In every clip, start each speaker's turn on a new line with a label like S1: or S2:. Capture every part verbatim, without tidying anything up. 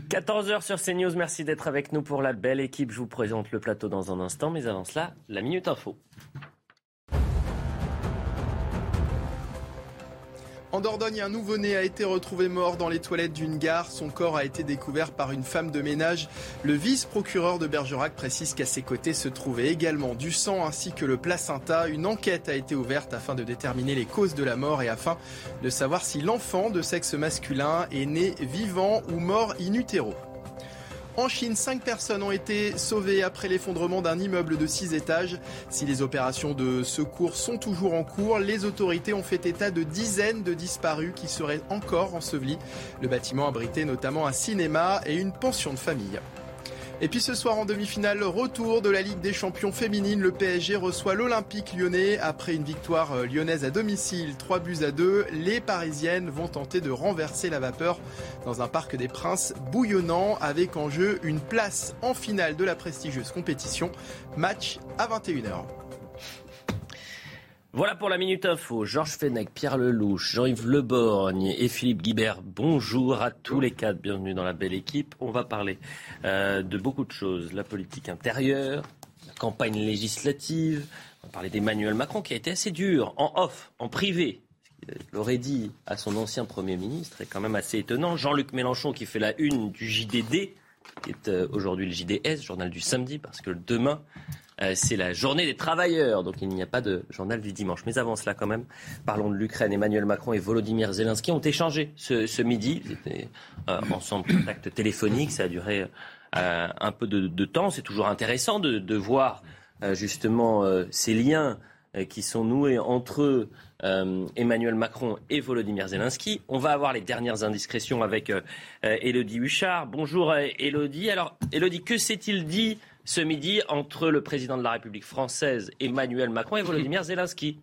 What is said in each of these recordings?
S1: quatorze heures sur CNews, merci d'être avec nous pour la belle équipe. Je vous présente le plateau dans un instant, mais avant cela, la Minute Info.
S2: En Dordogne, un nouveau-né a été retrouvé mort dans les toilettes d'une gare. Son corps a été découvert par une femme de ménage. Le vice-procureur de Bergerac précise qu'à ses côtés se trouvait également du sang ainsi que le placenta. Une enquête a été ouverte afin de déterminer les causes de la mort et afin de savoir si l'enfant de sexe masculin est né vivant ou mort in utero. En Chine, cinq personnes ont été sauvées après l'effondrement d'un immeuble de six étages. Si les opérations de secours sont toujours en cours, les autorités ont fait état de dizaines de disparus qui seraient encore ensevelis. Le bâtiment abritait notamment un cinéma et une pension de famille. Et puis ce soir en demi-finale, retour de la Ligue des champions féminines. Le P S G reçoit l'Olympique lyonnais. Après une victoire lyonnaise à domicile, trois buts à deux, les Parisiennes vont tenter de renverser la vapeur dans un Parc des Princes bouillonnant avec en jeu une place en finale de la prestigieuse compétition. Match à vingt et une heures.
S1: Voilà pour la Minute Info. Georges Fenech, Pierre Lelouch, Jean-Yves Leborgne et Philippe Guibert. Bonjour à tous les quatre. Bienvenue dans la belle équipe. On va parler euh, de beaucoup de choses. La politique intérieure, la campagne législative. On va parler d'Emmanuel Macron qui a été assez dur, en off, en privé. Il l'aurait dit à son ancien Premier ministre, est quand même assez étonnant. Jean-Luc Mélenchon qui fait la une du J D D, qui est euh, aujourd'hui le J D S, journal du samedi, parce que demain... Euh, c'est la journée des travailleurs, donc il n'y a pas de journal du dimanche. Mais avant cela, quand même, parlons de l'Ukraine. Emmanuel Macron et Volodymyr Zelensky ont échangé ce, ce midi. Ils étaient euh, ensemble, contact téléphonique. Ça a duré euh, un peu de, de temps. C'est toujours intéressant de, de voir euh, justement euh, ces liens euh, qui sont noués entre euh, Emmanuel Macron et Volodymyr Zelensky. On va avoir les dernières indiscrétions avec euh, euh, Élodie Huchard. Bonjour euh, Élodie. Alors Élodie, que s'est-il dit ce midi entre le président de la République française, Emmanuel Macron, et Volodymyr Zelensky?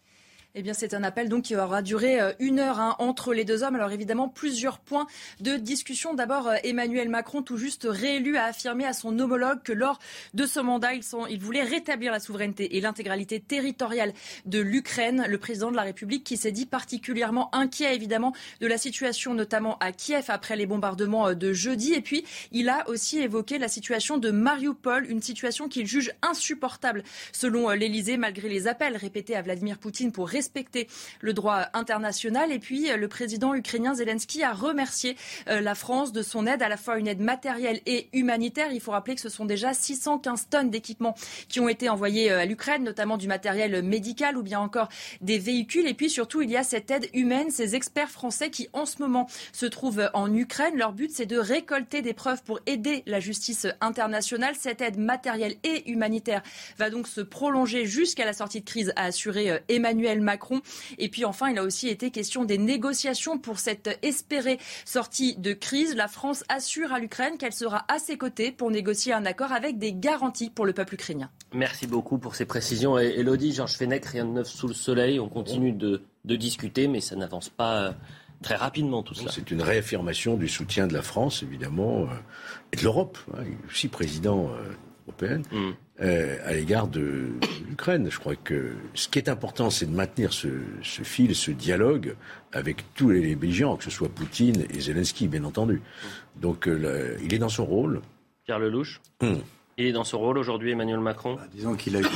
S3: Eh bien, c'est un appel donc qui aura duré une heure hein, entre les deux hommes. Alors évidemment, plusieurs points de discussion. D'abord, Emmanuel Macron, tout juste réélu, a affirmé à son homologue que lors de ce mandat, il, sont, il voulait rétablir la souveraineté et l'intégralité territoriale de l'Ukraine. Le président de la République qui s'est dit particulièrement inquiet évidemment de la situation, notamment à Kiev après les bombardements de jeudi. Et puis, il a aussi évoqué la situation de Mariupol, une situation qu'il juge insupportable selon l'Élysée, malgré les appels répétés à Vladimir Poutine pour respecter le droit international. Et puis, le président ukrainien Zelensky a remercié la France de son aide, à la fois une aide matérielle et humanitaire. Il faut rappeler que ce sont déjà six cent quinze tonnes d'équipements qui ont été envoyés à l'Ukraine, notamment du matériel médical ou bien encore des véhicules. Et puis surtout, il y a cette aide humaine, ces experts français qui en ce moment se trouvent en Ukraine. Leur but, c'est de récolter des preuves pour aider la justice internationale. Cette aide matérielle et humanitaire va donc se prolonger jusqu'à la sortie de crise, a assuré Emmanuel Macron. Et puis enfin, il a aussi été question des négociations pour cette espérée sortie de crise. La France assure à l'Ukraine qu'elle sera à ses côtés pour négocier un accord avec des garanties pour le peuple ukrainien.
S1: Merci beaucoup pour ces précisions. Et Élodie, Georges Fenech, rien de neuf sous le soleil. On continue de, de discuter, mais ça n'avance pas euh, très rapidement tout cela.
S4: C'est une réaffirmation du soutien de la France, évidemment, euh, et de l'Europe, hein, aussi président euh, européen. Mm. Euh, à l'égard de, de l'Ukraine. Je crois que ce qui est important, c'est de maintenir ce, ce fil, ce dialogue avec tous les belligérants, que ce soit Poutine et Zelensky, bien entendu. Donc, euh, là, il est dans son rôle.
S1: Pierre Lelouch, hum. Il est dans son rôle aujourd'hui, Emmanuel Macron.
S5: Bah, disons qu'il a eu,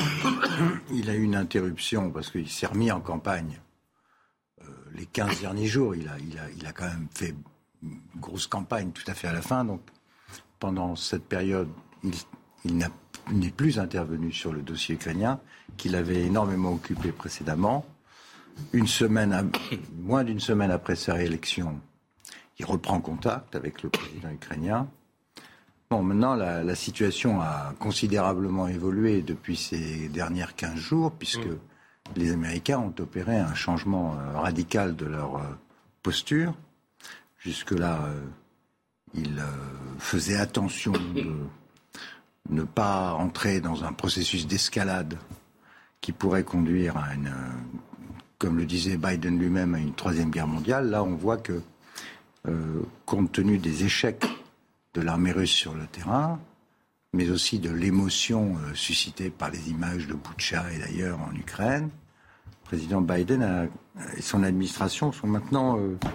S5: il a eu une interruption parce qu'il s'est remis en campagne euh, les quinze derniers jours. Il a, il, a, il a quand même fait une grosse campagne tout à fait à la fin. Donc, pendant cette période, il, il n'a n'est plus intervenu sur le dossier ukrainien, qu'il avait énormément occupé précédemment. Une semaine, à, moins d'une semaine après sa réélection, il reprend contact avec le président ukrainien. Bon, maintenant, la, la situation a considérablement évolué depuis ces dernières quinze jours, puisque mmh. les Américains ont opéré un changement euh, radical de leur euh, posture. Jusque-là, euh, ils euh, faisaient attention de ne pas entrer dans un processus d'escalade qui pourrait conduire à une, comme le disait Biden lui-même, à une troisième guerre mondiale. Là, on voit que, euh, compte tenu des échecs de l'armée russe sur le terrain, mais aussi de l'émotion euh, suscitée par les images de Boutcha et d'ailleurs en Ukraine, le président Biden a, et son administration sont maintenant euh,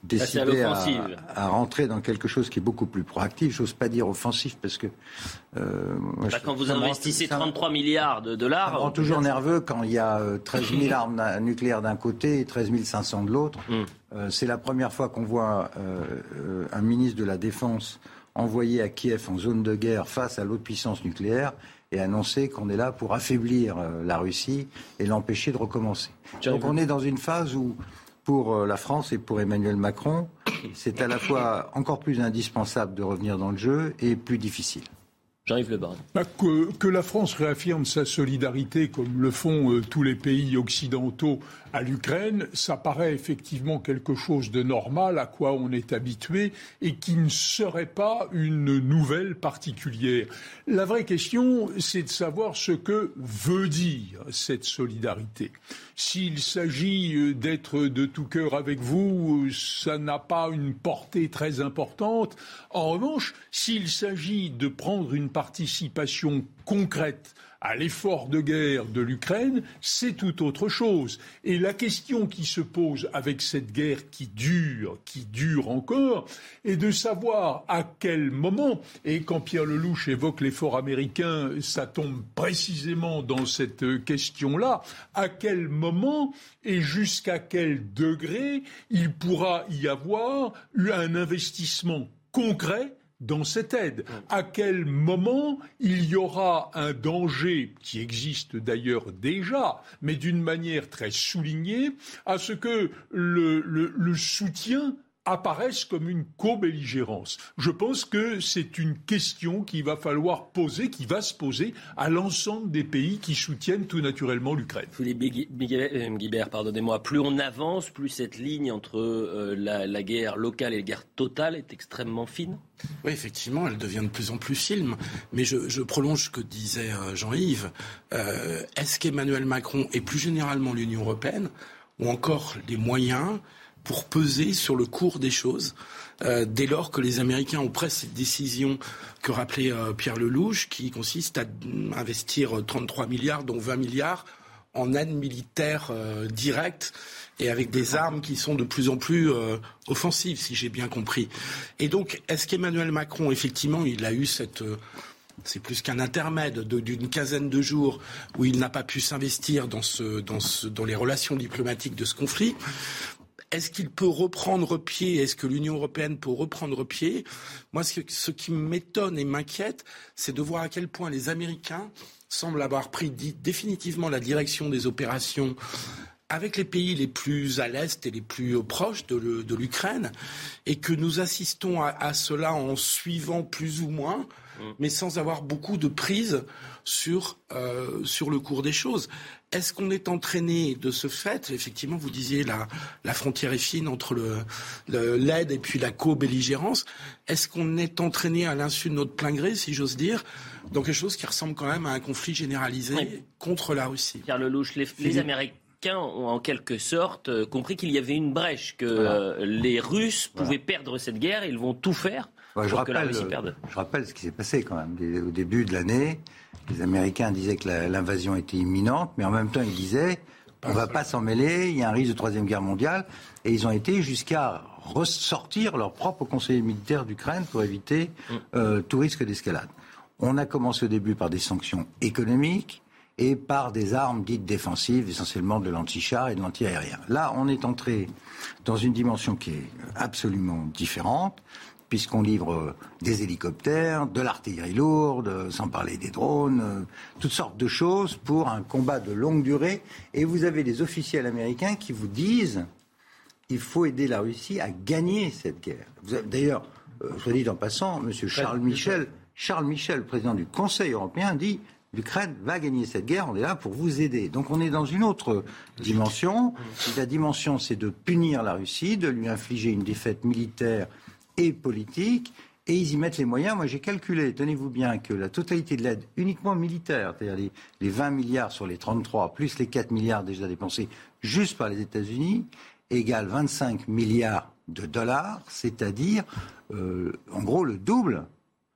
S5: décidé à, à rentrer dans quelque chose qui est beaucoup plus proactif. J'ose pas dire offensif parce que... Euh, moi,
S1: bah,
S5: je,
S1: quand vous investissez trente-trois milliards de dollars...
S5: Ça me rend toujours nerveux quand il y a euh, treize mille armes nucléaires d'un côté et treize mille cinq cents de l'autre. Mm. Euh, c'est la première fois qu'on voit euh, euh, un ministre de la Défense envoyé à Kiev en zone de guerre face à l'autre puissance nucléaire et annoncer qu'on est là pour affaiblir euh, la Russie et l'empêcher de recommencer. Donc on est dans une phase où... Pour la France et pour Emmanuel Macron, c'est à la fois encore plus indispensable de revenir dans le jeu et plus difficile.
S1: Jean-Yves Le Borgne.
S6: Bah, que, que la France réaffirme sa solidarité, comme le font euh, tous les pays occidentaux à l'Ukraine, ça paraît effectivement quelque chose de normal, à quoi on est habitué, et qui ne serait pas une nouvelle particulière. La vraie question, c'est de savoir ce que veut dire cette solidarité. S'il s'agit d'être de tout cœur avec vous, ça n'a pas une portée très importante. En revanche, s'il s'agit de prendre une participation concrète à l'effort de guerre de l'Ukraine, c'est tout autre chose. Et la question qui se pose avec cette guerre qui dure, qui dure encore, est de savoir à quel moment, et quand Pierre Lelouch évoque l'effort américain, ça tombe précisément dans cette question-là, à quel moment et jusqu'à quel degré il pourra y avoir eu un investissement concret dans cette aide. À quel moment il y aura un danger, qui existe d'ailleurs déjà, mais d'une manière très soulignée, à ce que le, le, le soutien apparaissent comme une co-belligérance. Je pense que c'est une question qu'il va falloir poser, qui va se poser à l'ensemble des pays qui soutiennent tout naturellement l'Ukraine.
S1: Philippe Guibert, pardonnez-moi, plus on avance, plus cette ligne entre euh, la, la guerre locale et la guerre totale est extrêmement fine.
S7: Oui, effectivement, elle devient de plus en plus fine. Mais je, je prolonge ce que disait euh, Jean-Yves. Euh, est-ce qu'Emmanuel Macron et plus généralement l'Union européenne ont encore les moyens pour peser sur le cours des choses, euh, dès lors que les Américains ont pris cette décision que rappelait euh, Pierre Lelouch, qui consiste à investir trente-trois milliards, dont vingt milliards, en aide militaire euh, directe, et avec des armes qui sont de plus en plus euh, offensives, si j'ai bien compris. Et donc, est-ce qu'Emmanuel Macron, effectivement, il a eu cette... Euh, c'est plus qu'un intermède de, d'une quinzaine de jours où il n'a pas pu s'investir dans, ce, dans, ce, dans les relations diplomatiques de ce conflit. Est-ce qu'il peut reprendre pied ? Est-ce que l'Union européenne peut reprendre pied ? Moi, ce, ce qui m'étonne et m'inquiète, c'est de voir à quel point les Américains semblent avoir pris dit, définitivement la direction des opérations avec les pays les plus à l'est et les plus proches de, le, de l'Ukraine, et que nous assistons à, à cela en suivant plus ou moins, mais sans avoir beaucoup de prise sur, euh, sur le cours des choses. Est-ce qu'on est entraîné de ce fait ? Effectivement, vous disiez la, la frontière est fine entre le, le, l'aide et puis la co-belligérance. Est-ce qu'on est entraîné à l'insu de notre plein gré, si j'ose dire, dans quelque chose qui ressemble quand même à un conflit généralisé oui. contre la Russie ?
S1: Pierre Lelouch, les, les Américains ont en quelque sorte euh, compris qu'il y avait une brèche, que voilà. euh, les Russes voilà. pouvaient perdre cette guerre, ils vont tout faire
S5: ouais,
S1: pour
S5: je rappelle,
S1: que la Russie perde.
S5: Je rappelle ce qui s'est passé quand même. Au début de l'année, les Américains disaient que la, l'invasion était imminente, mais en même temps ils disaient on ne va pas s'en mêler, il y a un risque de troisième guerre mondiale, et ils ont été jusqu'à ressortir leur propre conseiller militaire d'Ukraine pour éviter euh, tout risque d'escalade. On a commencé au début par des sanctions économiques et par des armes dites défensives, essentiellement de l'anti-char et de l'anti-aérien. Là, on est entré dans une dimension qui est absolument différente, puisqu'on livre des hélicoptères, de l'artillerie lourde, sans parler des drones, toutes sortes de choses pour un combat de longue durée. Et vous avez des officiels américains qui vous disent qu'il faut aider la Russie à gagner cette guerre. Vous avez, d'ailleurs, euh, soit dit en passant, M. Charles Michel, Charles Michel, président du Conseil européen, dit l'Ukraine va gagner cette guerre, on est là pour vous aider. Donc on est dans une autre dimension. Et la dimension, c'est de punir la Russie, de lui infliger une défaite militaire et politique, et ils y mettent les moyens. Moi j'ai calculé, tenez-vous bien, que la totalité de l'aide uniquement militaire, c'est-à-dire les, les vingt milliards sur les trente-trois, plus les quatre milliards déjà dépensés juste par les États-Unis, égale vingt-cinq milliards de dollars, c'est-à-dire euh, en gros le double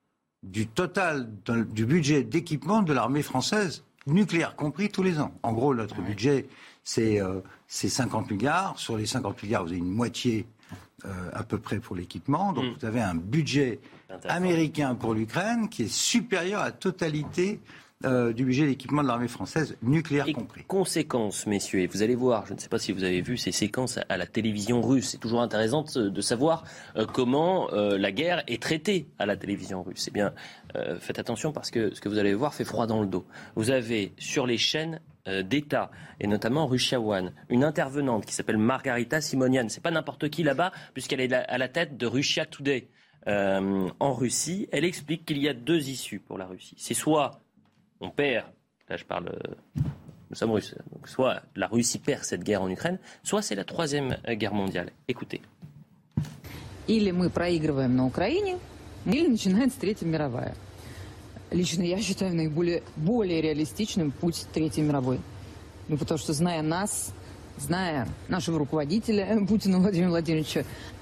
S5: du total du budget d'équipement de l'armée française, nucléaire compris, tous les ans. En gros, notre ouais. budget, c'est, euh, c'est cinquante milliards. Sur les cinquante milliards, vous avez une moitié euh, à peu près pour l'équipement. Donc mmh. vous avez un budget américain pour l'Ukraine qui est supérieur à la totalité euh, du budget d'équipement de l'armée française, nucléaire
S1: et
S5: compris.
S1: Conséquences, messieurs, et vous allez voir, je ne sais pas si vous avez vu ces séquences à la télévision russe. C'est toujours intéressant de savoir euh, comment euh, la guerre est traitée à la télévision russe. Eh bien, euh, faites attention parce que ce que vous allez voir fait froid dans le dos. Vous avez sur les chaînes euh, d'État, et notamment Russia One, une intervenante qui s'appelle Margarita Simonian. C'est pas n'importe qui là-bas, puisqu'elle est à la tête de Russia Today euh, en Russie. Elle explique qu'il y a deux issues pour la Russie. C'est soit on perd, là je parle, nous sommes russes, donc soit la Russie perd cette guerre en Ukraine, soit c'est la troisième guerre mondiale. Écoutez.
S8: Или мы проигрываем на Украине, или начинается Третья мировая. Лично я считаю наиболее более реалистичным путь Третьей мировой. Ну, потому что, зная нас, зная нашего руководителя Путина Владимира Владимировича,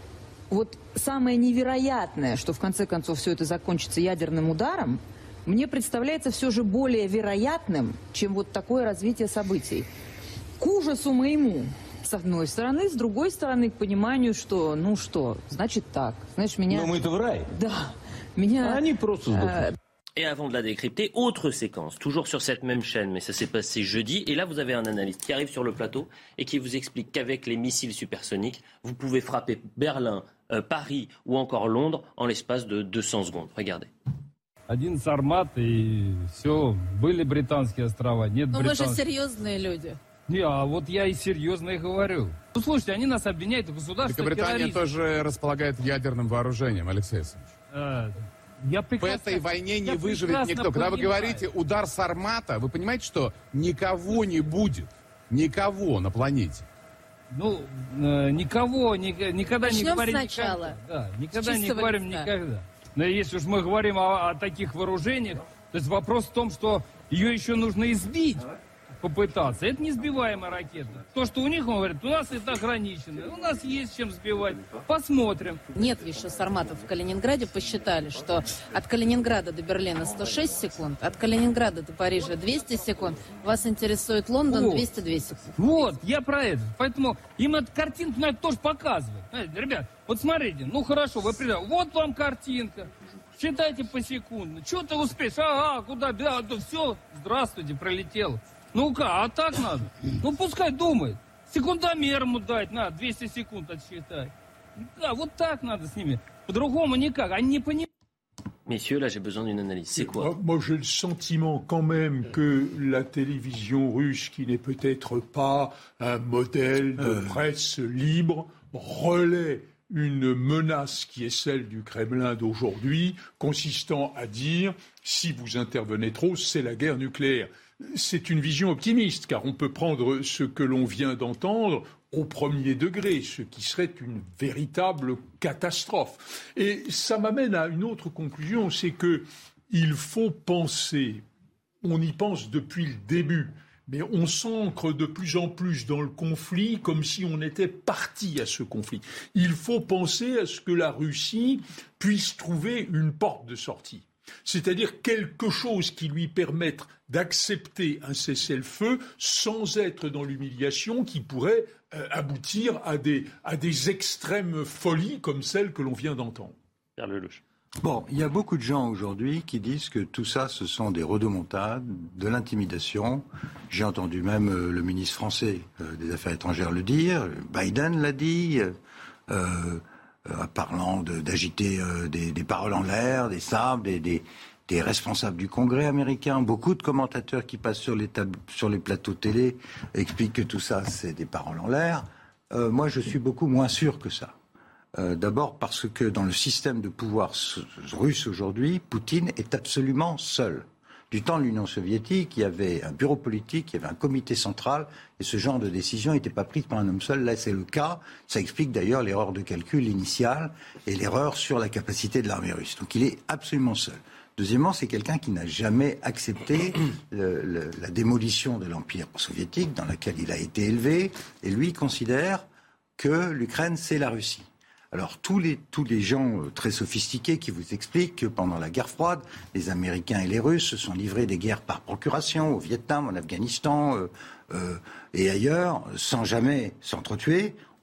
S8: вот самое невероятное, что в конце концов все это закончится ядерным ударом, мне представляется все же более вероятным, чем вот такое развитие событий. К ужасу моему, с одной стороны, с другой стороны, к пониманию, что, ну что, значит так. Знаешь, меня...
S9: Но мы-то в рай.
S8: Да. Меня...
S9: А они просто сдохнут.
S1: Et avant de la décrypter, autre séquence, toujours sur cette même chaîne, mais ça s'est passé jeudi. Et là, vous avez un analyste qui arrive sur le plateau et qui vous explique qu'avec les missiles supersoniques, vous pouvez frapper Berlin, euh, Paris ou encore Londres en l'espace de deux cents secondes. Regardez.
S10: Один Сармат и все, были британские острова, нет
S11: Но
S10: британских.
S11: Мы же серьезные люди.
S10: Не, а вот я и серьезно и говорю. Ну, слушайте, они нас обвиняют в государственном терроризме.
S12: Великобритания тоже располагает ядерным вооружением, Алексей Александрович.
S10: А, я прекрасно,
S12: в этой войне не
S10: я
S12: выживет никто. Когда вы говорите удар Сармата, вы понимаете, что никого не будет. Никого на планете.
S10: Ну, э, никого, ни, никогда
S11: Начнем
S10: не говорим
S11: сначала.
S10: никогда. Да, никогда не говорим
S11: листа.
S10: никогда. Но если уж мы говорим о, о таких вооружениях, то есть вопрос в том, что ее еще нужно избить, попытаться. Это не сбиваемая ракета. То, что у них, он говорит, у нас это ограничено, у нас есть чем сбивать. Посмотрим.
S11: Нет еще Сарматов в Калининграде. Посчитали, что от Калининграда до Берлина сто шесть секунд, от Калининграда до Парижа двести секунд. Вас интересует Лондон двести две секунды.
S10: Вот, я про это. Поэтому им эту картинку надо тоже показывать. Знаете, ребят, вот смотрите, ну хорошо, вы придете, вот вам картинка. Считайте посекундно. Что ты успеешь? Ага, куда? Да, да, все, здравствуйте, пролетел. Ну-ка, а так надо? Ну, пускай думает. Секундомер ему дать надо, двести секунд отсчитать. Да, вот так надо с nimi. По-другому никак. Они не понимают.
S1: Messieurs, là j'ai besoin d'une analyse. C'est quoi?
S6: Moi, moi j'ai le sentiment quand même que la télévision russe, qui n'est peut-être pas un modèle de euh... presse libre, relaie une menace qui est celle du Kremlin d'aujourd'hui, consistant à dire si vous intervenez trop, c'est la guerre nucléaire. C'est une vision optimiste, car on peut prendre ce que l'on vient d'entendre au premier degré, ce qui serait une véritable catastrophe. Et ça m'amène à une autre conclusion, c'est que il faut penser, on y pense depuis le début, mais on s'ancre de plus en plus dans le conflit comme si on était parti à ce conflit. Il faut penser à ce que la Russie puisse trouver une porte de sortie. C'est-à-dire quelque chose qui lui permette d'accepter un cessez-le-feu sans être dans l'humiliation qui pourrait euh, aboutir à des, à des extrêmes folies comme celles que l'on vient d'entendre.
S1: Pierre Lelouch.
S5: Bon, il y a beaucoup de gens aujourd'hui qui disent que tout ça, ce sont des rodomontades, de l'intimidation. J'ai entendu même euh, le ministre français euh, des Affaires étrangères le dire, Biden l'a dit, euh, euh, parlant de, d'agiter euh, des, des paroles en l'air, des sabres, des, des, des responsables du Congrès américain. Beaucoup de commentateurs qui passent sur les, tab- sur les plateaux télé expliquent que tout ça, c'est des paroles en l'air. Euh, moi, je suis beaucoup moins sûr que ça. Euh, d'abord parce que dans le système de pouvoir russe aujourd'hui, Poutine est absolument seul. Du temps de l'Union soviétique, il y avait un bureau politique, il y avait un comité central, et ce genre de décision n'était pas prise par un homme seul. Là, c'est le cas. Ça explique d'ailleurs l'erreur de calcul initiale et l'erreur sur la capacité de l'armée russe. Donc il est absolument seul. Deuxièmement, c'est quelqu'un qui n'a jamais accepté le, le, la démolition de l'Empire soviétique dans laquelle il a été élevé, et lui considère que l'Ukraine, c'est la Russie. Alors tous les, tous les gens euh, très sophistiqués qui vous expliquent que pendant la guerre froide, les Américains et les Russes se sont livrés des guerres par procuration au Vietnam, en Afghanistan euh, euh, et ailleurs, sans jamais s'entretuer,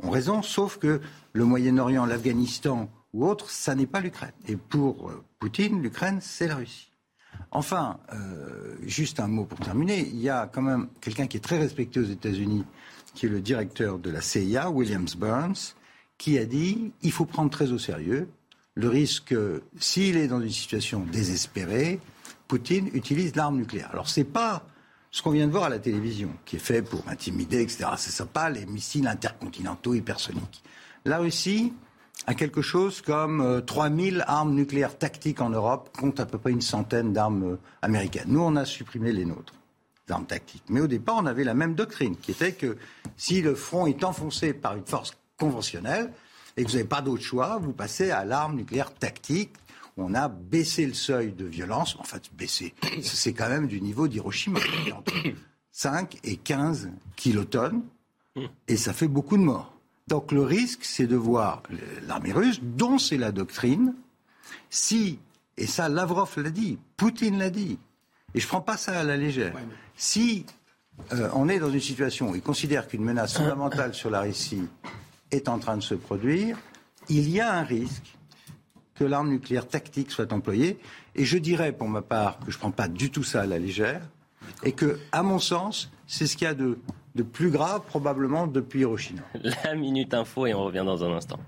S5: ont raison, sauf que le Moyen-Orient, l'Afghanistan ou autre, ça n'est pas l'Ukraine. Et pour euh, Poutine, l'Ukraine, c'est la Russie. Enfin, euh, juste un mot pour terminer, il y a quand même quelqu'un qui est très respecté aux États-Unis, qui est le directeur de la C I A, Williams Burns, qui a dit il faut prendre très au sérieux le risque, s'il est dans une situation désespérée, Poutine utilise l'arme nucléaire. Alors c'est pas ce qu'on vient de voir à la télévision, qui est fait pour intimider, et cetera. Ce ne sont pas les missiles intercontinentaux hypersoniques. La Russie a quelque chose comme euh, trois mille armes nucléaires tactiques en Europe, compte à peu près une centaine d'armes euh, américaines. Nous, on a supprimé les nôtres, les armes tactiques. Mais au départ, on avait la même doctrine, qui était que si le front est enfoncé par une force conventionnelle et que vous n'avez pas d'autre choix, vous passez à l'arme nucléaire tactique. On a baissé le seuil de violence. En fait, baissé, c'est quand même du niveau d'Hiroshima, entre cinq et quinze kilotonnes, et ça fait beaucoup de morts. Donc le risque, c'est de voir l'armée russe, dont c'est la doctrine, si, et ça Lavrov l'a dit, Poutine l'a dit, et je ne prends pas ça à la légère, si euh, on est dans une situation où il considère qu'une menace fondamentale sur la Russie est en train de se produire, il y a un risque que l'arme nucléaire tactique soit employée. Et je dirais, pour ma part, que je ne prends pas du tout ça à la légère, et que, à mon sens, c'est ce qu'il y a de, de plus grave, probablement, depuis Hiroshima.
S1: La Minute Info, et on revient dans un instant.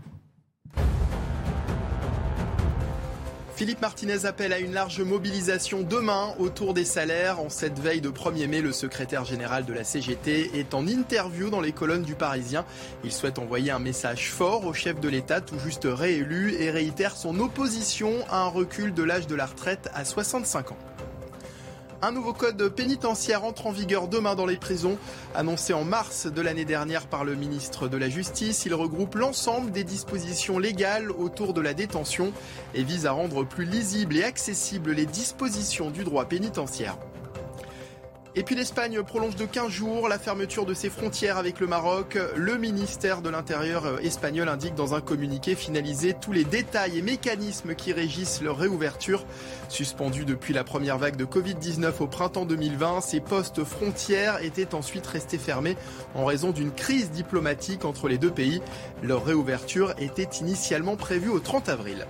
S2: Philippe Martinez appelle à une large mobilisation demain autour des salaires. En cette veille de premier mai, le secrétaire général de la C G T est en interview dans les colonnes du Parisien. Il souhaite envoyer un message fort au chef de l'État, tout juste réélu, et réitère son opposition à un recul de l'âge de la retraite à soixante-cinq ans. Un nouveau code pénitentiaire entre en vigueur demain dans les prisons. Annoncé en mars de l'année dernière par le ministre de la Justice, il regroupe l'ensemble des dispositions légales autour de la détention et vise à rendre plus lisibles et accessibles les dispositions du droit pénitentiaire. Et puis l'Espagne prolonge de quinze jours la fermeture de ses frontières avec le Maroc. Le ministère de l'Intérieur espagnol indique dans un communiqué finalisé tous les détails et mécanismes qui régissent leur réouverture. Suspendus depuis la première vague de covid dix-neuf au printemps deux mille vingt, ces postes frontières étaient ensuite restés fermés en raison d'une crise diplomatique entre les deux pays. Leur réouverture était initialement prévue au trente avril.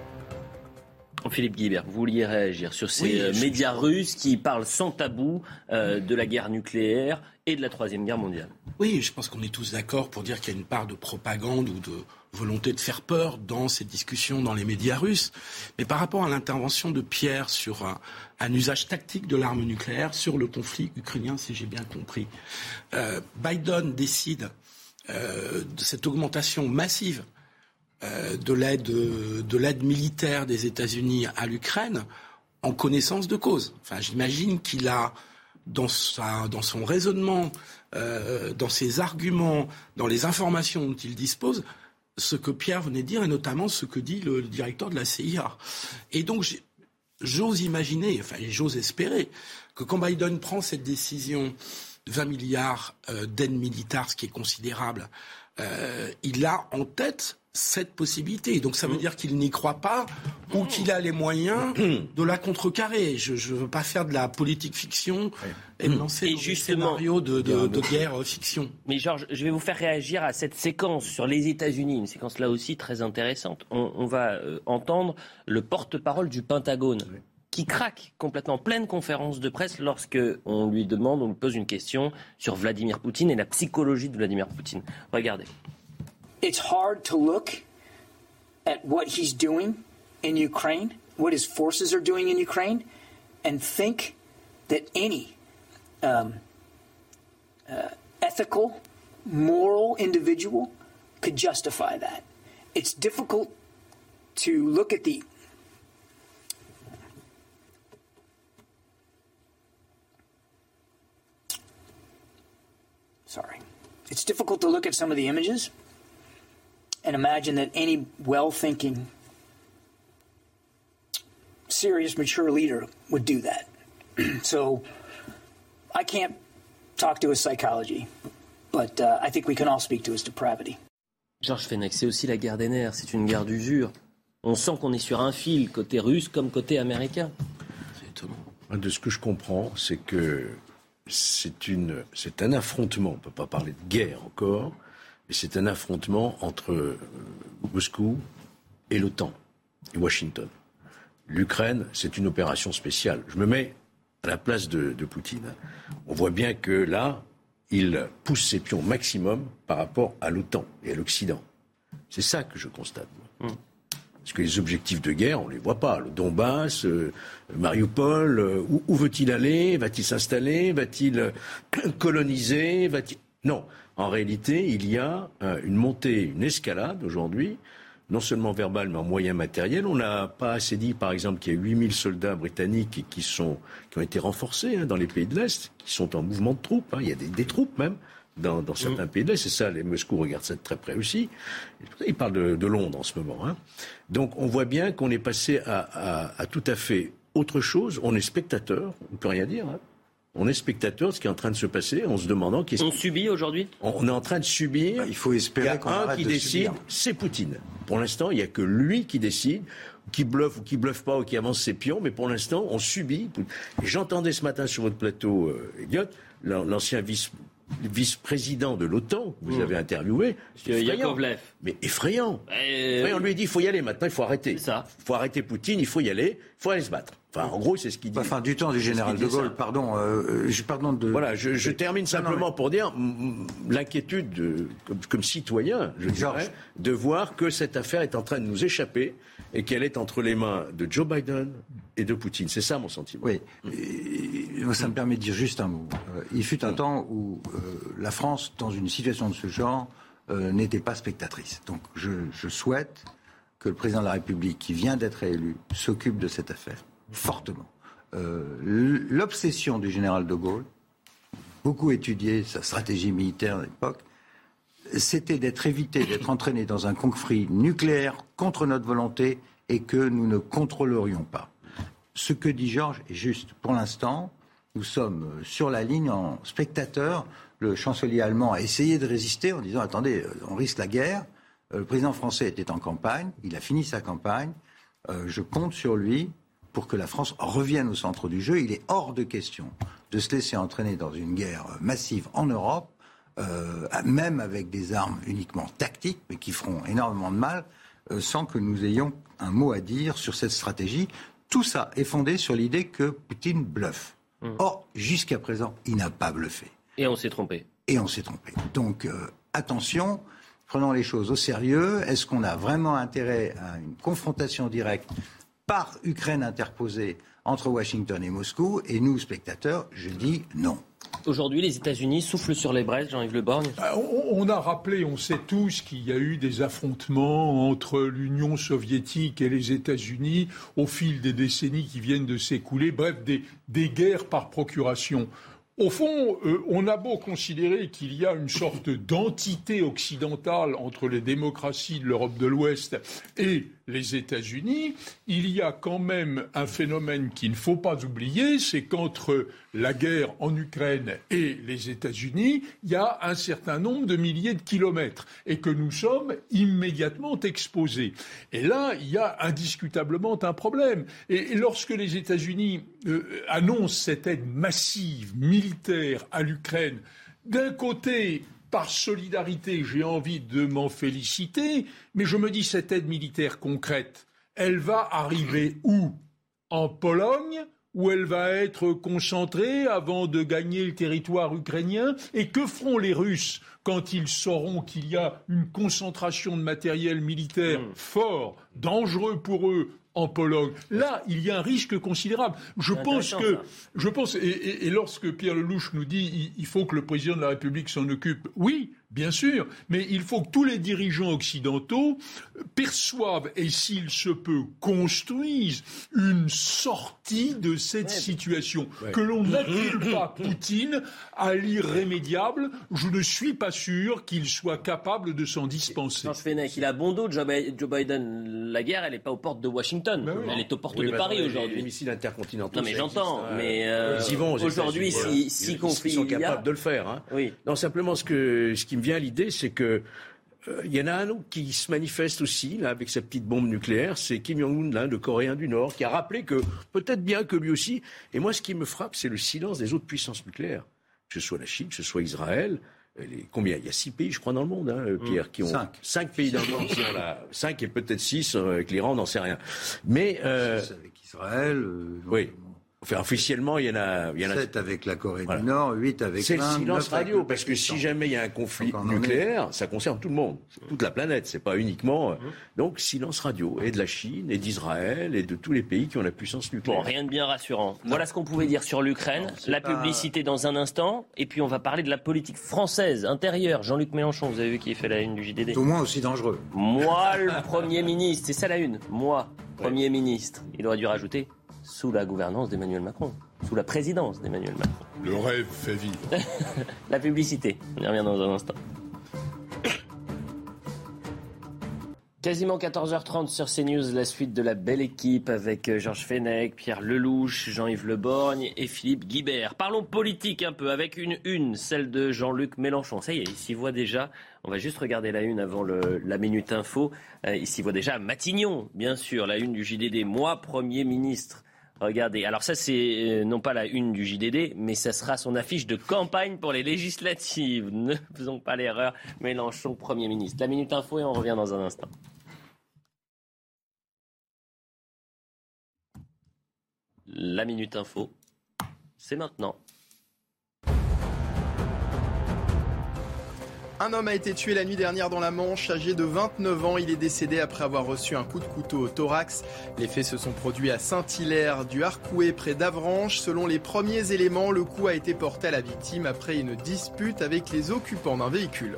S1: Philippe Guibert, vous vouliez réagir sur ces
S7: oui,
S1: euh,
S7: je...
S1: médias russes qui parlent sans tabou euh, de la guerre nucléaire et de la Troisième Guerre mondiale.
S7: Oui, je pense qu'on est tous d'accord pour dire qu'il y a une part de propagande ou de volonté de faire peur dans ces discussions dans les médias russes. Mais par rapport à l'intervention de Pierre sur un, un usage tactique de l'arme nucléaire sur le conflit ukrainien, si j'ai bien compris, euh, Biden décide euh, de cette augmentation massive de l'aide, de l'aide militaire des États-Unis à l'Ukraine en connaissance de cause. Enfin, j'imagine qu'il a, dans, sa, dans son raisonnement, euh, dans ses arguments, dans les informations dont il dispose, ce que Pierre venait de dire, et notamment ce que dit le, le directeur de la C I A. Et donc, j'ose imaginer, enfin, j'ose espérer, que quand Biden prend cette décision de vingt milliards euh, d'aide militaire, ce qui est considérable, euh, il a en tête cette possibilité. Donc ça veut dire qu'il n'y croit pas ou qu'il a les moyens de la contrecarrer. Je ne veux pas faire de la politique fiction et me lancer dans des scénarios de, de, de guerre fiction.
S1: Mais Georges, je vais vous faire réagir à cette séquence sur les États-Unis, une séquence là aussi très intéressante. On, on va euh, entendre le porte-parole du Pentagone oui. qui craque complètement en pleine conférence de presse lorsque on lui demande, on lui pose une question sur Vladimir Poutine et la psychologie de Vladimir Poutine. Regardez.
S9: It's hard to look at what he's doing in Ukraine, what his forces are doing in Ukraine, and think that any um, uh, ethical, moral individual could justify that. It's difficult to look at the sorry. It's difficult to look at some of the images and imagine that any well-thinking, serious, mature leader would do that. So I can't talk to his psychology, but uh, I think we can all speak to his depravity.
S1: Georges Fenech, c'est aussi la guerre des nerfs, c'est une guerre d'usure. On sent qu'on est sur un fil, côté russe comme côté américain.
S7: C'est étonnant.
S4: De ce que je comprends, c'est que c'est, une, c'est un affrontement, on ne peut pas parler de guerre encore, mais c'est un affrontement entre euh, Moscou et l'OTAN et Washington. L'Ukraine, c'est une opération spéciale. Je me mets à la place de, de Poutine. On voit bien que là, il pousse ses pions maximum par rapport à l'OTAN et à l'Occident. C'est ça que je constate. Mmh. Parce que les objectifs de guerre, on ne les voit pas. Le Donbass, euh, Mariupol, euh, où, où veut-il aller ? Va-t-il s'installer ? Va-t-il euh, coloniser ? Va-t-il... Non. En réalité, il y a euh, une montée, une escalade aujourd'hui, non seulement verbale, mais en moyens matériels. On n'a pas assez dit, par exemple, qu'il y a huit mille soldats britanniques qui, sont, qui ont été renforcés hein, dans les pays de l'Est, qui sont en mouvement de troupes. Hein. Il y a des, des troupes même. Dans, dans certains mmh. pays de l'Est, c'est ça, les Moscou regardent ça de très près aussi. Ils parlent de, de Londres en ce moment. Hein. Donc on voit bien qu'on est passé à, à, à tout à fait autre chose. On est spectateur, on ne peut rien dire. Hein. On est spectateur de ce qui est en train de se passer en se demandant... Qu'est-ce
S1: on subit aujourd'hui ?
S4: On est en train de subir...
S5: Bah, il faut espérer
S4: il y a
S5: qu'on
S4: un
S5: arrête
S4: qui
S5: de
S4: décide,
S5: subir.
S4: C'est Poutine. Pour l'instant, il n'y a que lui qui décide, qui bluffe ou qui bluffe pas ou qui avance ses pions, mais pour l'instant, on subit. Et j'entendais ce matin sur votre plateau, euh, Elliot, l'ancien vice... vice-président de l'OTAN, que vous mmh. avez interviewé,
S1: Yakovlev.
S4: Mais effrayant.
S1: Euh,
S4: effrayant. On lui dit, il faut y aller maintenant, il faut arrêter.
S1: C'est ça.
S4: Il faut arrêter Poutine, il faut y aller, il faut aller se battre. Enfin, en gros, c'est ce qu'il dit.
S5: Enfin, du temps du général de Gaulle, ça. pardon, euh, je pardon de...
S4: Voilà, je, je termine simplement non, non, mais... pour dire m- l'inquiétude, de, comme, comme citoyen, je dirais, de voir que cette affaire est en train de nous échapper et qu'elle est entre les mains de Joe Biden et de Poutine. C'est ça mon sentiment.
S5: Oui, et, ça me permet de dire juste un mot. Euh, il fut un mmh. temps où euh, la France, dans une situation de ce genre, euh, n'était pas spectatrice. Donc je, je souhaite que le président de la République, qui vient d'être élu, s'occupe de cette affaire, fortement. Euh, l'obsession du général de Gaulle, beaucoup étudié sa stratégie militaire à l'époque, c'était d'être évité, d'être entraîné dans un conflit nucléaire contre notre volonté et que nous ne contrôlerions pas. Ce que dit Georges est juste. Pour l'instant, nous sommes sur la ligne en spectateur. Le chancelier allemand a essayé de résister en disant « Attendez, on risque la guerre ». Le président français était en campagne, il a fini sa campagne. Euh, je compte sur lui pour que la France revienne au centre du jeu. Il est hors de question de se laisser entraîner dans une guerre massive en Europe, euh, même avec des armes uniquement tactiques, mais qui feront énormément de mal, euh, sans que nous ayons un mot à dire sur cette stratégie. Tout ça est fondé sur l'idée que Poutine bluffe. Mmh. Or, jusqu'à présent, il n'a pas bluffé.
S1: Et on s'est trompé.
S5: Et on s'est trompé. Donc, euh, attention, prenons les choses au sérieux. Est-ce qu'on a vraiment intérêt à une confrontation directe par Ukraine interposée entre Washington et Moscou ? Et nous, spectateurs, je dis non.
S1: Aujourd'hui, les États-Unis soufflent sur les braises, Jean-Yves Le Borgne.
S6: On, on a rappelé, on sait tous qu'il y a eu des affrontements entre l'Union soviétique et les États-Unis au fil des décennies qui viennent de s'écouler, bref, des, des guerres par procuration. Au fond, euh, on a beau considérer qu'il y a une sorte d'entité occidentale entre les démocraties de l'Europe de l'Ouest et les États-Unis, il y a quand même un phénomène qu'il ne faut pas oublier, c'est qu'entre la guerre en Ukraine et les États-Unis, il y a un certain nombre de milliers de kilomètres et que nous sommes immédiatement exposés. Et là, il y a indiscutablement un problème. Et, et lorsque les États-Unis euh, annoncent cette aide massive, militaire à l'Ukraine, d'un côté, par solidarité, j'ai envie de m'en féliciter, mais je me dis, cette aide militaire concrète, elle va arriver où ? En Pologne, où elle va être concentrée avant de gagner le territoire ukrainien ? Et que feront les Russes quand ils sauront qu'il y a une concentration de matériel militaire mmh. fort, dangereux pour eux, en Pologne? Là, il y a un risque considérable. Je pense que, je pense, et, et, et lorsque Pierre Lelouch nous dit il, il faut que le président de la République s'en occupe, oui, bien sûr, mais il faut que tous les dirigeants occidentaux perçoivent et, s'il se peut, construisent une sortie de cette ouais, situation. Ouais. Que l'on n'accule pas Poutine à l'irrémédiable. Je ne suis pas sûr qu'il soit capable de s'en dispenser.
S1: Georges Fenech, il a bon dos, Joe Biden. La guerre, elle n'est pas aux portes de Washington. Ben oui. Elle est aux portes oui, de Paris
S4: non,
S1: aujourd'hui.
S4: Les missiles intercontinentaux.
S1: Non, mais j'entends.
S4: Existe,
S1: mais euh,
S4: ils y vont
S1: aujourd'hui, si, si conflit
S4: ils sont
S1: il y a...
S4: capables de le faire. Hein.
S1: Oui.
S4: Non, simplement, ce, que, ce qui me vient à l'idée, c'est que il euh, y en a un autre qui se manifeste aussi, là, avec sa petite bombe nucléaire, c'est Kim Jong-un, là, le Coréen du Nord, qui a rappelé que, peut-être bien que lui aussi, et moi, ce qui me frappe, c'est le silence des autres puissances nucléaires, que ce soit la Chine, que ce soit Israël, les, combien il y a six pays, je crois, dans le monde, hein, Pierre, qui ont
S5: cinq,
S4: cinq pays dans le monde qui ont la cinq et peut-être six avec l'Iran, on n'en sait rien. Mais euh,
S5: avec Israël. Euh,
S4: oui. Enfin, officiellement, il y en a... Il y en a
S5: sept avec la Corée
S4: voilà.
S5: du Nord, huit avec
S4: c'est
S5: l'Inde.
S4: C'est le silence radio,
S5: le
S4: parce que si jamais il y a un conflit
S5: donc,
S4: nucléaire, ça concerne tout le monde, toute la planète, c'est pas uniquement... Mmh. Donc, silence radio, et de la Chine, et d'Israël, et de tous les pays qui ont la puissance nucléaire.
S1: Bon, rien de bien rassurant. Non. Voilà ce qu'on pouvait dire sur l'Ukraine, non, la pas... publicité dans un instant, et puis on va parler de la politique française, intérieure. Jean-Luc Mélenchon, vous avez vu qui fait la une du J D D.
S5: Au moins aussi dangereux.
S1: Moi, le Premier ministre, c'est ça la une. Moi, Premier ouais. ministre. Il aurait dû rajouter sous la gouvernance d'Emmanuel Macron. Sous la présidence d'Emmanuel Macron.
S6: Le rêve fait vivre.
S1: La publicité, on y revient dans un instant. Quasiment quatorze heures trente sur CNews, la suite de la belle équipe avec Georges Fenech, Pierre Lelouch, Jean-Yves Le Borgne et Philippe Guibert. Parlons politique un peu avec une une, celle de Jean-Luc Mélenchon. Ça y est, il s'y voit déjà. On va juste regarder la une avant le, la Minute Info. Euh, il s'y voit déjà Matignon, bien sûr, la une du J D D. Moi, Premier ministre. Regardez, alors ça c'est euh, non pas la une du J D D, mais ça sera son affiche de campagne pour les législatives. Ne faisons pas l'erreur, Mélenchon Premier ministre. La Minute Info et on revient dans un instant. La Minute Info, c'est maintenant.
S2: Un homme a été tué la nuit dernière dans la Manche, âgé de vingt-neuf ans. Il est décédé après avoir reçu un coup de couteau au thorax. Les faits se sont produits à Saint-Hilaire du Harcouët, près d'Avranches. Selon les premiers éléments, le coup a été porté à la victime après une dispute avec les occupants d'un véhicule.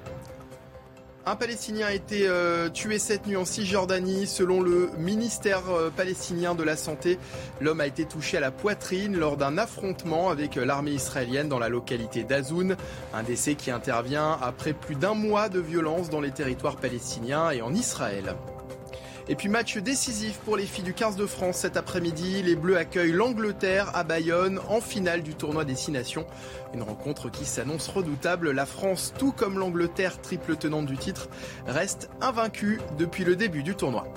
S2: Un Palestinien a été euh, tué cette nuit en Cisjordanie. Selon le ministère euh, palestinien de la Santé, l'homme a été touché à la poitrine lors d'un affrontement avec euh, l'armée israélienne dans la localité d'Azoun. Un décès qui intervient après plus d'un mois de violence dans les territoires palestiniens et en Israël. Et puis match décisif pour les filles du quinze de France cet après-midi. Les Bleus accueillent l'Angleterre à Bayonne en finale du tournoi des Six Nations. Une rencontre qui s'annonce redoutable. La France, tout comme l'Angleterre, triple tenante du titre, reste invaincue depuis le début du tournoi.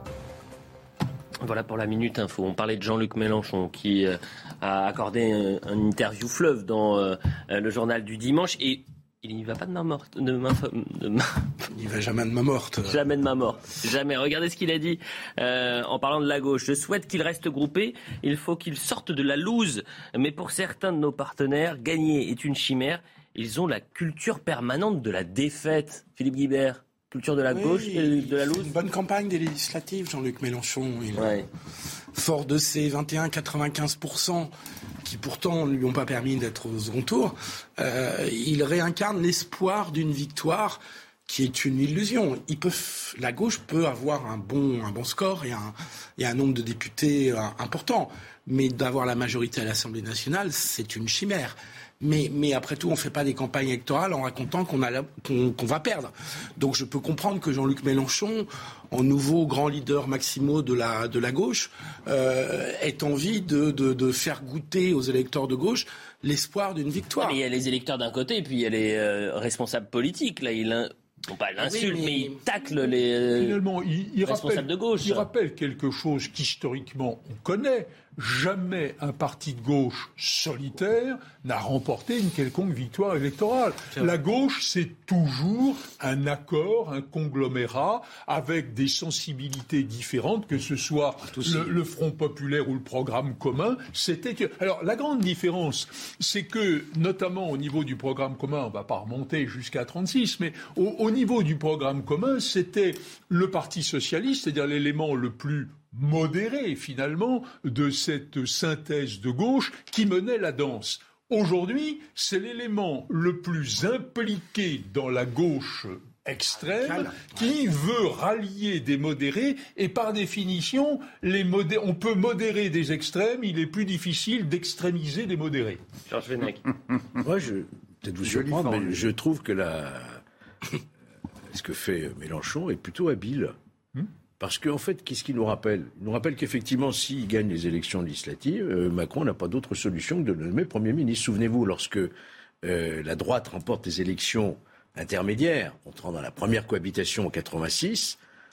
S1: Voilà pour la Minute Info. On parlait de Jean-Luc Mélenchon qui euh, a accordé un, un interview fleuve dans euh, le journal du dimanche et il n'y va pas de main morte. De main, de main...
S7: Il n'y va jamais de main morte.
S1: Jamais de main morte. Jamais. Regardez ce qu'il a dit euh, en parlant de la gauche. Je souhaite qu'il reste groupé. Il faut qu'il sorte de la loose. Mais pour certains de nos partenaires, gagner est une chimère. Ils ont la culture permanente de la défaite. Philippe Guibert, culture de la oui, gauche et de la loose.
S7: Une bonne campagne des législatives, Jean-Luc Mélenchon. Il
S1: ouais.
S7: Fort de ses vingt et un virgule quatre-vingt-quinze pour cent qui pourtant ne lui ont pas permis d'être au second tour, euh, il réincarne l'espoir d'une victoire qui est une illusion. Il peut, la gauche peut avoir un bon, un bon score et un, et un nombre de députés euh, important, mais d'avoir la majorité à l'Assemblée nationale, c'est une chimère. Mais, mais après tout, on ne fait pas des campagnes électorales en racontant qu'on, a la, qu'on, qu'on va perdre. Donc je peux comprendre que Jean-Luc Mélenchon, en nouveau grand leader maximo de la, de la gauche, euh, ait envie de, de, de faire goûter aux électeurs de gauche l'espoir d'une victoire.
S1: Mais il y a les électeurs d'un côté et puis il y a les euh, responsables politiques. Là, il a... Non pas l'insulte, oui, mais... mais il tacle les
S6: Finalement, il, il
S1: responsables
S6: rappelle,
S1: de gauche.
S6: Il rappelle quelque chose qu'historiquement on connaît. Jamais un parti de gauche solitaire n'a remporté une quelconque victoire électorale. La gauche, c'est toujours un accord, un conglomérat avec des sensibilités différentes, que ce soit le, le Front populaire ou le programme commun. C'était que... Alors, la grande différence, c'est que, notamment au niveau du programme commun, on ne va pas remonter jusqu'à trente-six, mais au, au niveau du programme commun, c'était le Parti socialiste, c'est-à-dire l'élément le plus modéré, finalement, de cette synthèse de gauche qui menait la danse. Aujourd'hui, c'est l'élément le plus impliqué dans la gauche extrême qui veut rallier des modérés et par définition, les modé- on peut modérer des extrêmes, il est plus difficile d'extrémiser des modérés.
S1: Georges Fenech.
S4: Moi, je peut-être vous surprendre, mais je trouve que la... ce que fait Mélenchon est plutôt habile. Hmm? Parce qu'en fait, qu'est-ce qu'il nous rappelle ? Il nous rappelle qu'effectivement, s'il gagne les élections législatives, euh, Macron n'a pas d'autre solution que de le nommer Premier ministre. Souvenez-vous, lorsque euh, la droite remporte les élections intermédiaires, entrant dans la première cohabitation en quatre-vingt-six,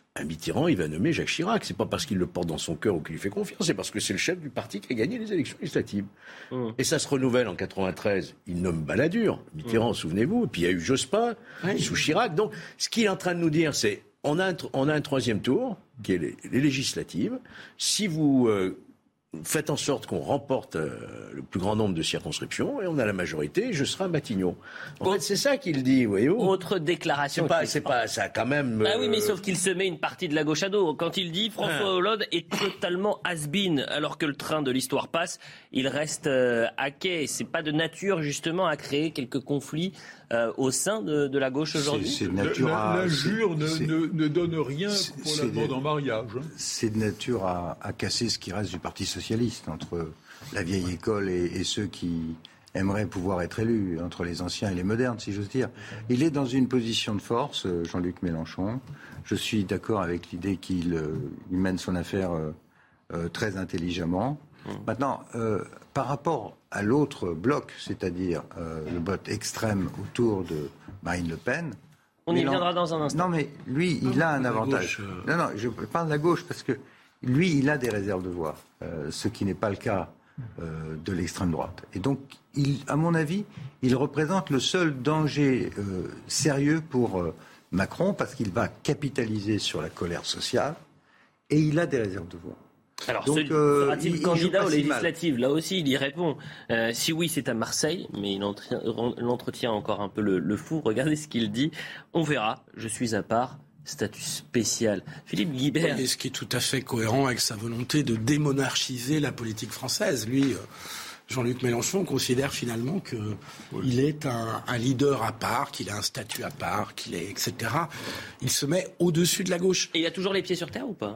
S4: Un Mitterrand, il va nommer Jacques Chirac. C'est pas parce qu'il le porte dans son cœur ou qu'il lui fait confiance, c'est parce que c'est le chef du parti qui a gagné les élections législatives. Mmh. Et ça se renouvelle en quatre-vingt-treize. Il nomme Balladur, Mitterrand, mmh. souvenez-vous. Et puis il y a eu Jospin, oui. sous Chirac. Donc, ce qu'il est en train de nous dire, c'est on a un, on a un troisième tour, qui est les, les législatives. Si vous euh, faites en sorte qu'on remporte euh, le plus grand nombre de circonscriptions, et on a la majorité, je serai à Matignon. En Autre, fait, c'est ça qu'il dit, voyez-vous.
S1: Autre déclaration.
S4: C'est pas, c'est pas, ça quand même.
S1: Ah oui, mais sauf qu'il se met une partie de la gauche à dos. Quand il dit François Hollande est totalement has-been, alors que le train de l'histoire passe, il reste euh, à quai. C'est pas de nature, justement, à créer quelques conflits euh, au sein de, de la gauche aujourd'hui.
S6: C'est, c'est nature à, la, l'injure ne, ne, ne donne rien pour la demande en mariage. Hein.
S5: C'est de nature à, à casser ce qui reste du Parti socialiste, entre la vieille école et, et ceux qui aimeraient pouvoir être élus, entre les anciens et les modernes, si j'ose dire. Il est dans une position de force, Jean-Luc Mélenchon. Je suis d'accord avec l'idée qu'il euh, il mène son affaire euh, euh, très intelligemment. Mmh. Maintenant, euh, par rapport à l'autre bloc, c'est-à-dire euh, le bloc extrême autour de Marine Le Pen...
S1: On y viendra dans un instant.
S5: Non, mais lui, il
S1: non,
S5: a un avantage.
S1: Gauche,
S5: euh... Non, non, je parle de la gauche parce que lui, il a des réserves de voix, euh, ce qui n'est pas le cas euh, de l'extrême droite. Et donc, il, à mon avis, il représente le seul danger euh, sérieux pour euh, Macron parce qu'il va capitaliser sur la colère sociale et il a des réserves de voix.
S1: Alors,
S5: donc,
S1: ce,
S5: euh,
S1: sera-t-il
S5: il,
S1: candidat
S5: il
S1: aux législatives ?
S5: mal.
S1: Là aussi, il y répond. Euh, si oui, c'est à Marseille, mais il entretient encore un peu le, le flou. Regardez ce qu'il dit. On verra. Je suis à part. Statut spécial. Philippe Guibert.
S7: Oui, ce qui est tout à fait cohérent avec sa volonté de démonarchiser la politique française. Lui, Jean-Luc Mélenchon considère finalement qu'il oui. est un, un leader à part, qu'il a un statut à part, qu'il est, et cetera. Il se met au-dessus de la gauche.
S1: Et il a toujours les pieds sur terre ou pas ?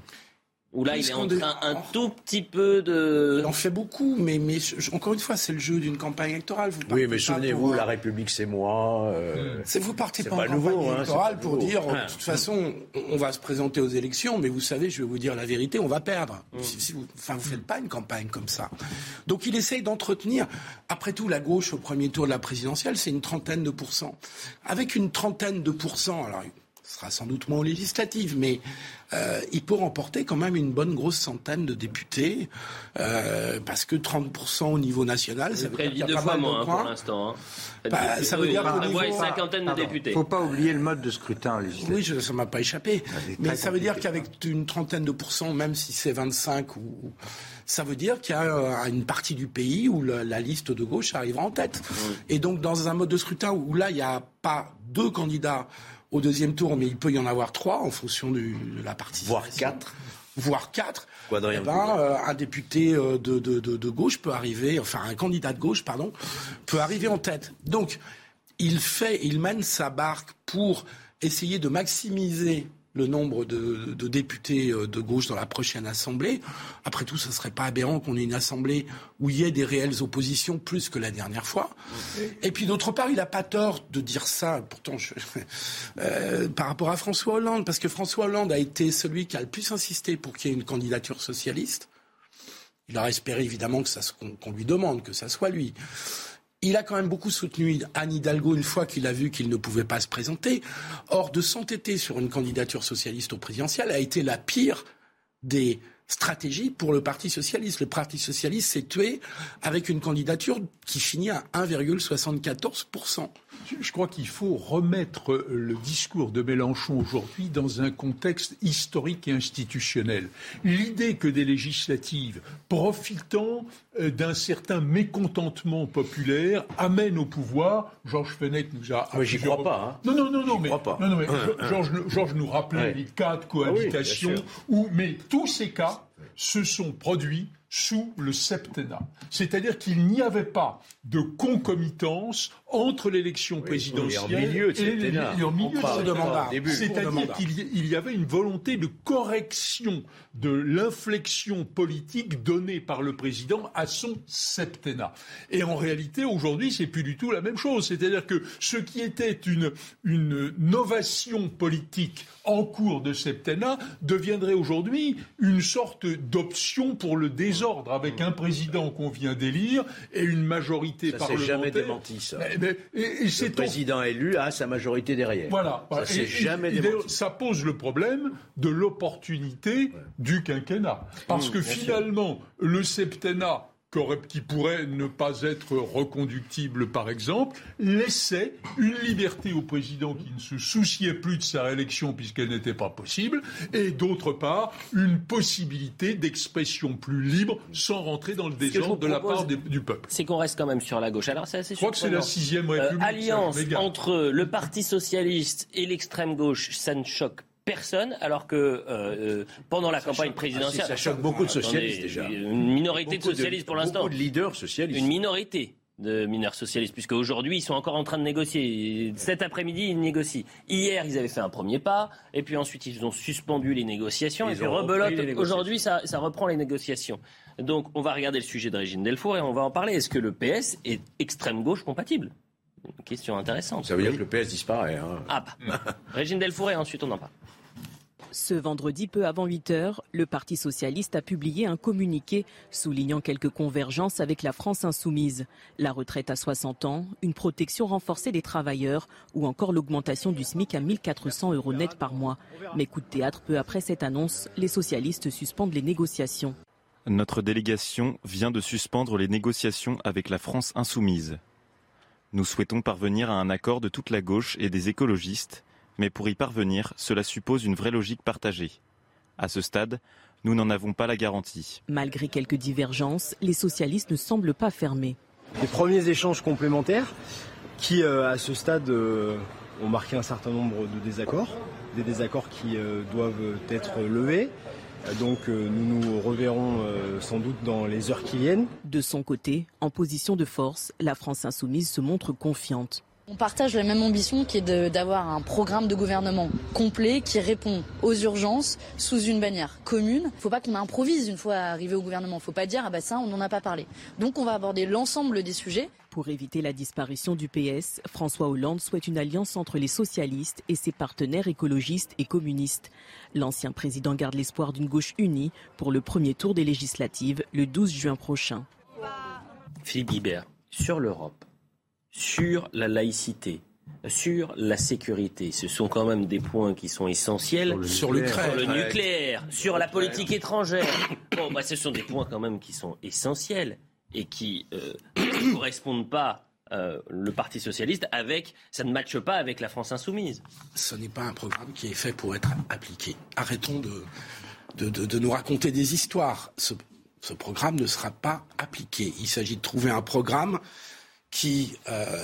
S1: Ou là, il est en train un tout petit peu de...
S7: Il en fait beaucoup, mais, mais encore une fois, c'est le jeu d'une campagne électorale. Vous
S4: oui, mais souvenez-vous, pour... la République, c'est moi. Euh...
S7: C'est, vous partez
S4: c'est
S7: pas,
S4: pas
S7: en
S4: nouveau,
S7: campagne
S4: hein,
S7: électorale pour
S4: nouveau.
S7: dire,
S4: Ah.
S7: de toute façon, on va se présenter aux élections, mais vous savez, je vais vous dire la vérité, on va perdre. Mmh. Si, si vous, enfin, vous faites pas une campagne comme ça. Donc, il essaye d'entretenir. Après tout, la gauche, au premier tour de la présidentielle, c'est une trentaine de pourcents. Avec une trentaine de pourcents, alors... ce sera sans doute moins aux législatives, mais euh, il peut remporter quand même une bonne grosse centaine de députés, euh, parce que trente pour cent au niveau national, ça veut dire qu'il y a
S1: deux
S7: pas
S1: fois
S7: mal
S1: moins,
S7: de points.
S1: Pour l'instant. Hein.
S7: Bah, ça veut dire qu'au niveau...
S1: une cinquantaine de députés.
S5: Il ne faut pas oublier le mode de scrutin législatif.
S7: Oui, je, ça ne m'a pas échappé. Mais ça veut dire qu'avec une trentaine de pourcents, même si c'est vingt-cinq, ou, ça veut dire qu'il y a une partie du pays où la, la liste de gauche arrivera en tête. Oui. Et donc, dans un mode de scrutin où là, il n'y a pas deux candidats au deuxième tour, mais il peut y en avoir trois en fonction du, de la participation.
S4: Voire quatre.
S7: Voire quatre.
S4: Eh
S7: ben, euh, un député de, de, de, de gauche peut arriver, enfin un candidat de gauche, pardon, peut arriver en tête. Donc, il fait, il mène sa barque pour essayer de maximiser le nombre de, de députés de gauche dans la prochaine Assemblée. Après tout, ce ne serait pas aberrant qu'on ait une Assemblée où il y ait des réelles oppositions plus que la dernière fois. Et puis d'autre part, il n'a pas tort de dire ça, pourtant, je, euh, par rapport à François Hollande, parce que François Hollande a été celui qui a le plus insisté pour qu'il y ait une candidature socialiste. Il aurait espéré évidemment que ça, qu'on, qu'on lui demande, que ça soit lui. Il a quand même beaucoup soutenu Anne Hidalgo une fois qu'il a vu qu'il ne pouvait pas se présenter. Or, de s'entêter sur une candidature socialiste au présidentiel a été la pire des stratégies pour le Parti socialiste. Le Parti socialiste s'est tué avec une candidature qui finit à un virgule soixante-quatorze pour cent.
S6: Je crois qu'il faut remettre le discours de Mélenchon aujourd'hui dans un contexte historique et institutionnel. L'idée que des législatives, profitant d'un certain mécontentement populaire, amènent au pouvoir. Georges Fenech nous a...
S4: Mais j'y crois pas. Hein.
S6: Non, non, non, non, mais,
S4: pas.
S6: non, non, mais Georges, Georges nous rappelait ouais. les cas de cohabitation, ah oui, où, mais tous ces cas se sont produits sous le septennat. C'est-à-dire qu'il n'y avait pas de concomitance entre l'élection oui, présidentielle
S4: et, en milieu de
S6: et, les, et en milieu de
S7: mandat.
S6: C'est-à-dire qu'il y, il y avait une volonté de correction de l'inflexion politique donnée par le président à son septennat. Et en réalité, aujourd'hui, c'est plus du tout la même chose. C'est-à-dire que ce qui était une, une novation politique en cours de septennat deviendrait aujourd'hui une sorte d'option pour le désordre désordre avec un président qu'on vient d'élire et une majorité
S4: ça
S6: parlementaire.
S4: Ça s'est jamais démenti, ça.
S6: Mais, mais, et, et c'est
S4: le président au... élu a sa majorité derrière.
S6: Voilà.
S4: Ça s'est jamais et, démenti.
S6: Ça pose le problème de l'opportunité ouais. du quinquennat. Parce mmh, que finalement, sûr. le septennat, qui pourrait ne pas être reconductible, par exemple, laissait une liberté au président qui ne se souciait plus de sa réélection puisqu'elle n'était pas possible, et d'autre part, une possibilité d'expression plus libre sans rentrer dans le désordre de la part des, du peuple.
S1: C'est qu'on reste quand même sur la gauche. Alors, c'est assez
S6: Je crois que c'est la sixième République.
S1: Euh, alliance entre le Parti socialiste et l'extrême gauche, ça ne choque personne, alors que euh, pendant la ça campagne choque, présidentielle...
S4: Ah, si, ça choque beaucoup de socialistes déjà.
S1: Une minorité beaucoup de socialistes pour l'instant.
S4: Beaucoup de leaders socialistes.
S1: Une minorité de mineurs socialistes, puisque aujourd'hui ils sont encore en train de négocier. Cet après-midi, ils négocient. Hier, ils avaient fait un premier pas, et puis ensuite ils ont suspendu les négociations, ils et puis rebelote. Aujourd'hui, ça, ça reprend les négociations. Donc on va regarder le sujet de Régine Delfour et on va en parler. Est-ce que le P S est extrême gauche compatible ? Une question intéressante.
S4: Ça veut dire que le P S disparaît. Hein.
S1: Ah bah. Régine Delfour et ensuite on en parle.
S13: Ce vendredi, peu avant huit heures, le Parti socialiste a publié un communiqué soulignant quelques convergences avec la France insoumise. La retraite à soixante ans, une protection renforcée des travailleurs ou encore l'augmentation du SMIC à mille quatre cents euros net par mois. Mais coup de théâtre, peu après cette annonce, les socialistes suspendent les négociations.
S14: Notre délégation vient de suspendre les négociations avec la France insoumise. Nous souhaitons parvenir à un accord de toute la gauche et des écologistes. Mais pour y parvenir, cela suppose une vraie logique partagée. À ce stade, nous n'en avons pas la garantie.
S13: Malgré quelques divergences, les socialistes ne semblent pas fermés.
S15: Des premiers échanges complémentaires qui, euh, à ce stade, euh, ont marqué un certain nombre de désaccords, des désaccords qui euh, doivent être levés. Donc euh, nous nous reverrons euh, sans doute dans les heures qui viennent.
S13: De son côté, en position de force, la France insoumise se montre confiante.
S16: On partage la même ambition qui est de, d'avoir un programme de gouvernement complet qui répond aux urgences sous une bannière commune. Il ne faut pas qu'on improvise une fois arrivé au gouvernement. Il ne faut pas dire « ah bah ça, on n'en a pas parlé ». Donc on va aborder l'ensemble des sujets.
S13: Pour éviter la disparition du P S, François Hollande souhaite une alliance entre les socialistes et ses partenaires écologistes et communistes. L'ancien président garde l'espoir d'une gauche unie pour le premier tour des législatives le douze juin prochain.
S1: Philippe Guibert, sur l'Europe, sur la laïcité, sur la sécurité, ce sont quand même des points qui sont essentiels.
S7: Sur le nucléaire,
S1: sur, le nucléaire, sur la politique étrangère. Bon, bah, ce sont des points quand même qui sont essentiels et qui euh, ne correspondent pas, euh, le Parti socialiste, avec, ça ne matche pas avec la France insoumise.
S7: Ce n'est pas un programme qui est fait pour être appliqué. Arrêtons de, de, de, de nous raconter des histoires. Ce, ce programme ne sera pas appliqué. Il s'agit de trouver un programme qui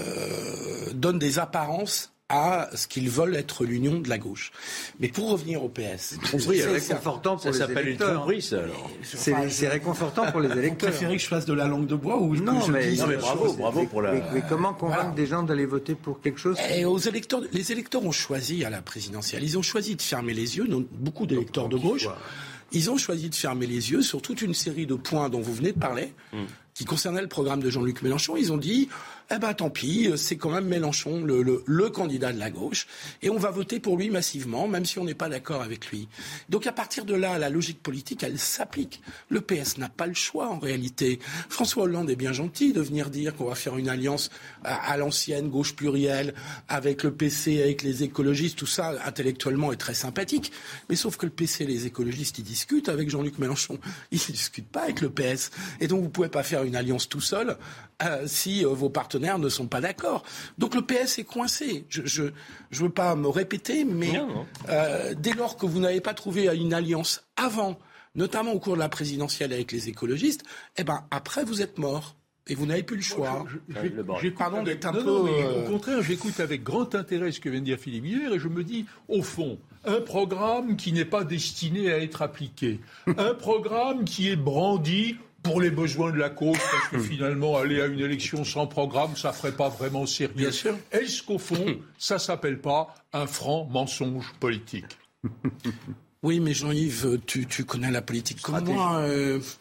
S7: euh, donne des apparences à ce qu'ils veulent être l'union de la gauche. Mais pour revenir au P S...
S5: C'est réconfortant pour
S4: ça
S5: les électeurs.
S4: Tromperie, ça, alors.
S5: C'est, c'est réconfortant pour les électeurs.
S7: Vous préférez que je fasse de la langue de bois ou
S5: non,
S7: que
S5: mais,
S7: je dise
S5: non,
S4: mais bravo,
S7: chose.
S4: bravo pour la...
S5: Mais, mais comment convaincre
S7: voilà.
S5: des gens d'aller voter pour quelque chose
S7: Et aux électeurs, les électeurs ont choisi à la présidentielle. Ils ont choisi de fermer les yeux, donc beaucoup d'électeurs de gauche. Ils ont choisi de fermer les yeux sur toute une série de points dont vous venez de parler, mmh. qui concernaient le programme de Jean-Luc Mélenchon. Ils ont dit, eh ben tant pis, c'est quand même Mélenchon, le, le, le candidat de la gauche, et on va voter pour lui massivement, même si on n'est pas d'accord avec lui. Donc à partir de là, la logique politique, elle s'applique. Le P S n'a pas le choix en réalité. François Hollande est bien gentil de venir dire qu'on va faire une alliance à, à l'ancienne, gauche plurielle, avec le P C, avec les écologistes, tout ça, intellectuellement, est très sympathique. Mais sauf que le P C et les écologistes, ils discutent avec Jean-Luc Mélenchon. Ils ne discutent pas avec le P S. Et donc vous ne pouvez pas faire une alliance tout seul euh, si euh, vos partenaires ne sont pas d'accord. Donc le P S est coincé. Je je, je veux pas me répéter, mais euh, dès lors que vous n'avez pas trouvé une alliance avant, notamment au cours de la présidentielle avec les écologistes, eh ben après vous êtes mort. Et vous n'avez plus le choix.
S6: Je, je, je, Pardon d'être un non, peu... Non, mais euh... Au contraire, j'écoute avec grand intérêt ce que vient de dire Philippe Guibert et je me dis, au fond, un programme qui n'est pas destiné à être appliqué, un programme qui est brandi pour les besoins de la cause, parce que finalement, aller à une élection sans programme, ça ne ferait pas vraiment sérieux.
S7: Bien sûr.
S6: Est-ce qu'au fond, ça ne s'appelle pas un franc mensonge politique ?
S7: Oui, mais Jean-Yves, tu, tu connais la politique comme moi. Euh,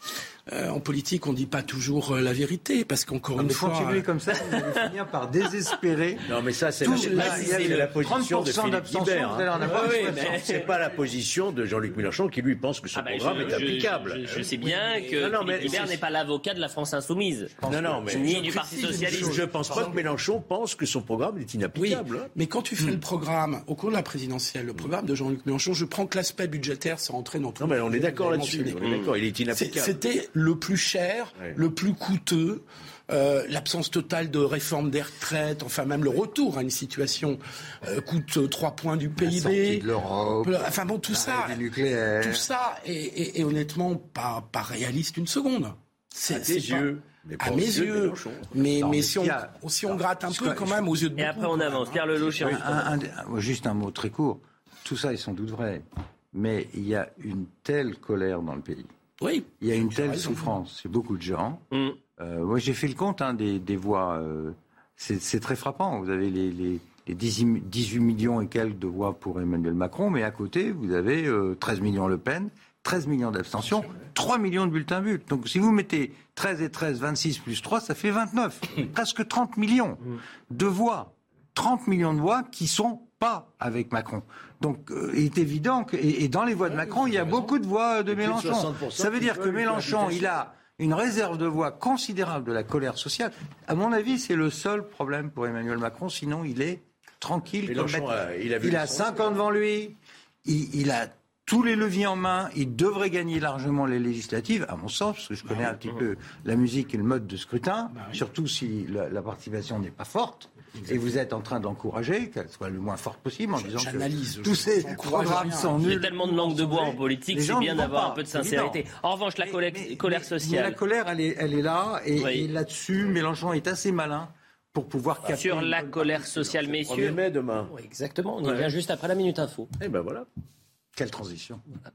S7: euh, en politique, on dit pas toujours euh, la vérité, parce qu'encore
S5: non,
S7: une
S5: mais
S7: fois...
S5: continuez comme ça, vous allez finir par désespérer.
S4: Non, mais ça, c'est
S5: Tout,
S4: la,
S5: là,
S4: c'est la, la position de Philippe Guibert. Hein.
S5: Hein.
S4: Oui, oui, mais c'est pas la position de Jean-Luc Mélenchon qui, lui, pense que ce ah ben programme je, est applicable.
S1: Je, je, je sais bien oui, que non, non, Philippe Guibert n'est pas l'avocat de la France Insoumise.
S4: Non, non, mais...
S1: Ni du Parti Socialiste.
S4: Je pense pas que Mélenchon pense que son programme est inapplicable.
S7: Oui, mais quand tu fais mmh. le programme, au cours de la présidentielle, le programme de Jean-Luc Mélenchon, je prends que l'aspect budgétaire, ça rentrait dans tout.
S4: Non, mais on est d'accord là-dessus. On est d'accord, il est inapplicable.
S7: C'était le plus cher, ouais. le plus coûteux. Euh, l'absence totale de réforme des retraites, enfin même le retour à une situation euh, coûte trois points du P I B.
S5: La sortie de l'Europe,
S7: enfin bon, tout ça,
S5: nucléaire.
S7: tout ça est, est, est honnêtement pas, pas réaliste une seconde.
S4: C'est, à tes yeux.
S7: Mais à mes yeux. Mais, non, mais, mais si, on, a, si on gratte un peu quand même aux yeux de beaucoup.
S1: Et après on avance. Pierre Lelouch.
S5: Un, un, un, juste un mot très court. Tout ça est sans doute vrai. Mais il y a une telle colère dans le pays.
S7: Oui.
S5: Il y a une telle souffrance chez beaucoup de gens. Mm. Euh, moi, j'ai fait le compte hein, des, des voix. Euh, c'est, c'est très frappant. Vous avez les, les, les dix-huit millions et quelques de voix pour Emmanuel Macron, mais à côté, vous avez euh, treize millions Le Pen, treize millions d'abstentions, trois millions de bulletins nuls. Donc, si vous mettez treize et treize, vingt-six plus trois, ça fait vingt-neuf. Presque trente millions de voix. trente millions de voix qui sont pas avec Macron. Donc, euh, il est évident que... Et, et dans les voix de Macron, il y a beaucoup de voix de Mélenchon. Ça veut dire que Mélenchon, il a... une réserve de voix considérable de la colère sociale. À mon avis, c'est le seul problème pour Emmanuel Macron. Sinon, il est tranquille.
S4: Mélenchon,
S5: comme
S4: a, il a,
S5: il a cinq ans devant lui. Il, il a tous les leviers en main. Il devrait gagner largement les législatives, à mon sens, parce que je connais un petit peu la musique et le mode de scrutin, surtout si la, la participation n'est pas forte. Exactement. Et vous êtes en train de l'encourager, qu'elle soit le moins forte possible, en disant
S7: J'analyse,
S5: que tous ces programmes sont nuls.
S1: Il y a tellement de langue de bois en politique, c'est bien d'avoir pas, un peu de sincérité. Évident. En revanche, la colère, mais, colère sociale...
S5: Mais la colère, elle est, elle est là, et, oui. et là-dessus, Mélenchon est assez malin pour pouvoir capter...
S1: Sur la colère sociale, messieurs...
S4: premier mai demain.
S1: Oui, exactement, on y ouais. vient juste après la Minute Info.
S4: Et ben voilà.
S5: Quelle transition. Voilà.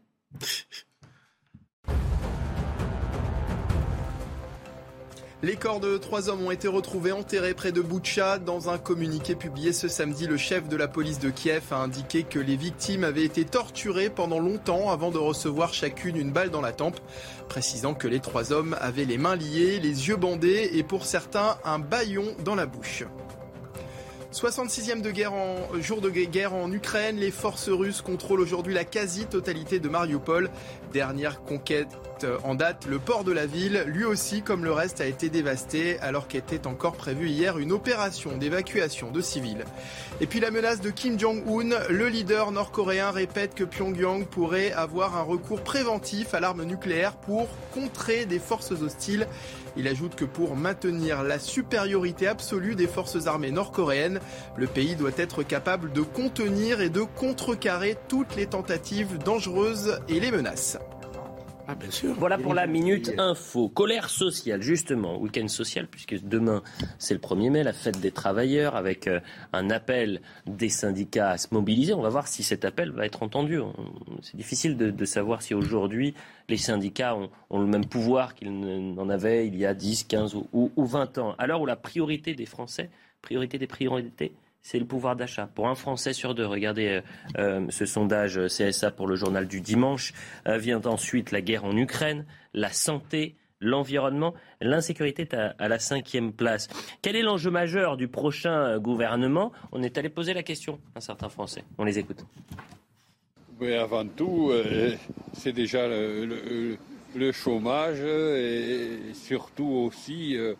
S2: Les corps de trois hommes ont été retrouvés enterrés près de Boutcha. Dans un communiqué publié ce samedi, le chef de la police de Kiev a indiqué que les victimes avaient été torturées pendant longtemps avant de recevoir chacune une balle dans la tempe, précisant que les trois hommes avaient les mains liées, les yeux bandés et pour certains un bâillon dans la bouche. soixante-sixième de guerre en, jour de guerre en Ukraine, les forces russes contrôlent aujourd'hui la quasi-totalité de Mariupol. Dernière conquête en date, le port de la ville, lui aussi comme le reste, a été dévasté alors qu'était encore prévue hier une opération d'évacuation de civils. Et puis la menace de Kim Jong-un, le leader nord-coréen répète que Pyongyang pourrait avoir un recours préventif à l'arme nucléaire pour contrer des forces hostiles. Il ajoute que pour maintenir la supériorité absolue des forces armées nord-coréennes, le pays doit être capable de contenir et de contrecarrer toutes les tentatives dangereuses et les menaces.
S1: Ah, bien sûr. Voilà pour la Minute Info. Colère sociale, justement, week-end social, puisque demain, c'est le premier mai, la fête des travailleurs, avec euh, un appel des syndicats à se mobiliser. On va voir si cet appel va être entendu. C'est difficile de, de savoir si aujourd'hui, les syndicats ont, ont le même pouvoir qu'ils n'en avaient il y a dix, quinze ou, ou, ou vingt ans. À l'heure où la priorité des Français, priorité des priorités, c'est le pouvoir d'achat. Pour un Français sur deux, regardez euh, euh, ce sondage C S A pour le journal du dimanche, euh, vient ensuite la guerre en Ukraine, la santé, l'environnement, l'insécurité est à, à la cinquième place. Quel est l'enjeu majeur du prochain gouvernement ? On est allé poser la question à certains Français. On les écoute.
S17: Mais avant tout, euh, c'est déjà le, le, le chômage et surtout aussi... Euh,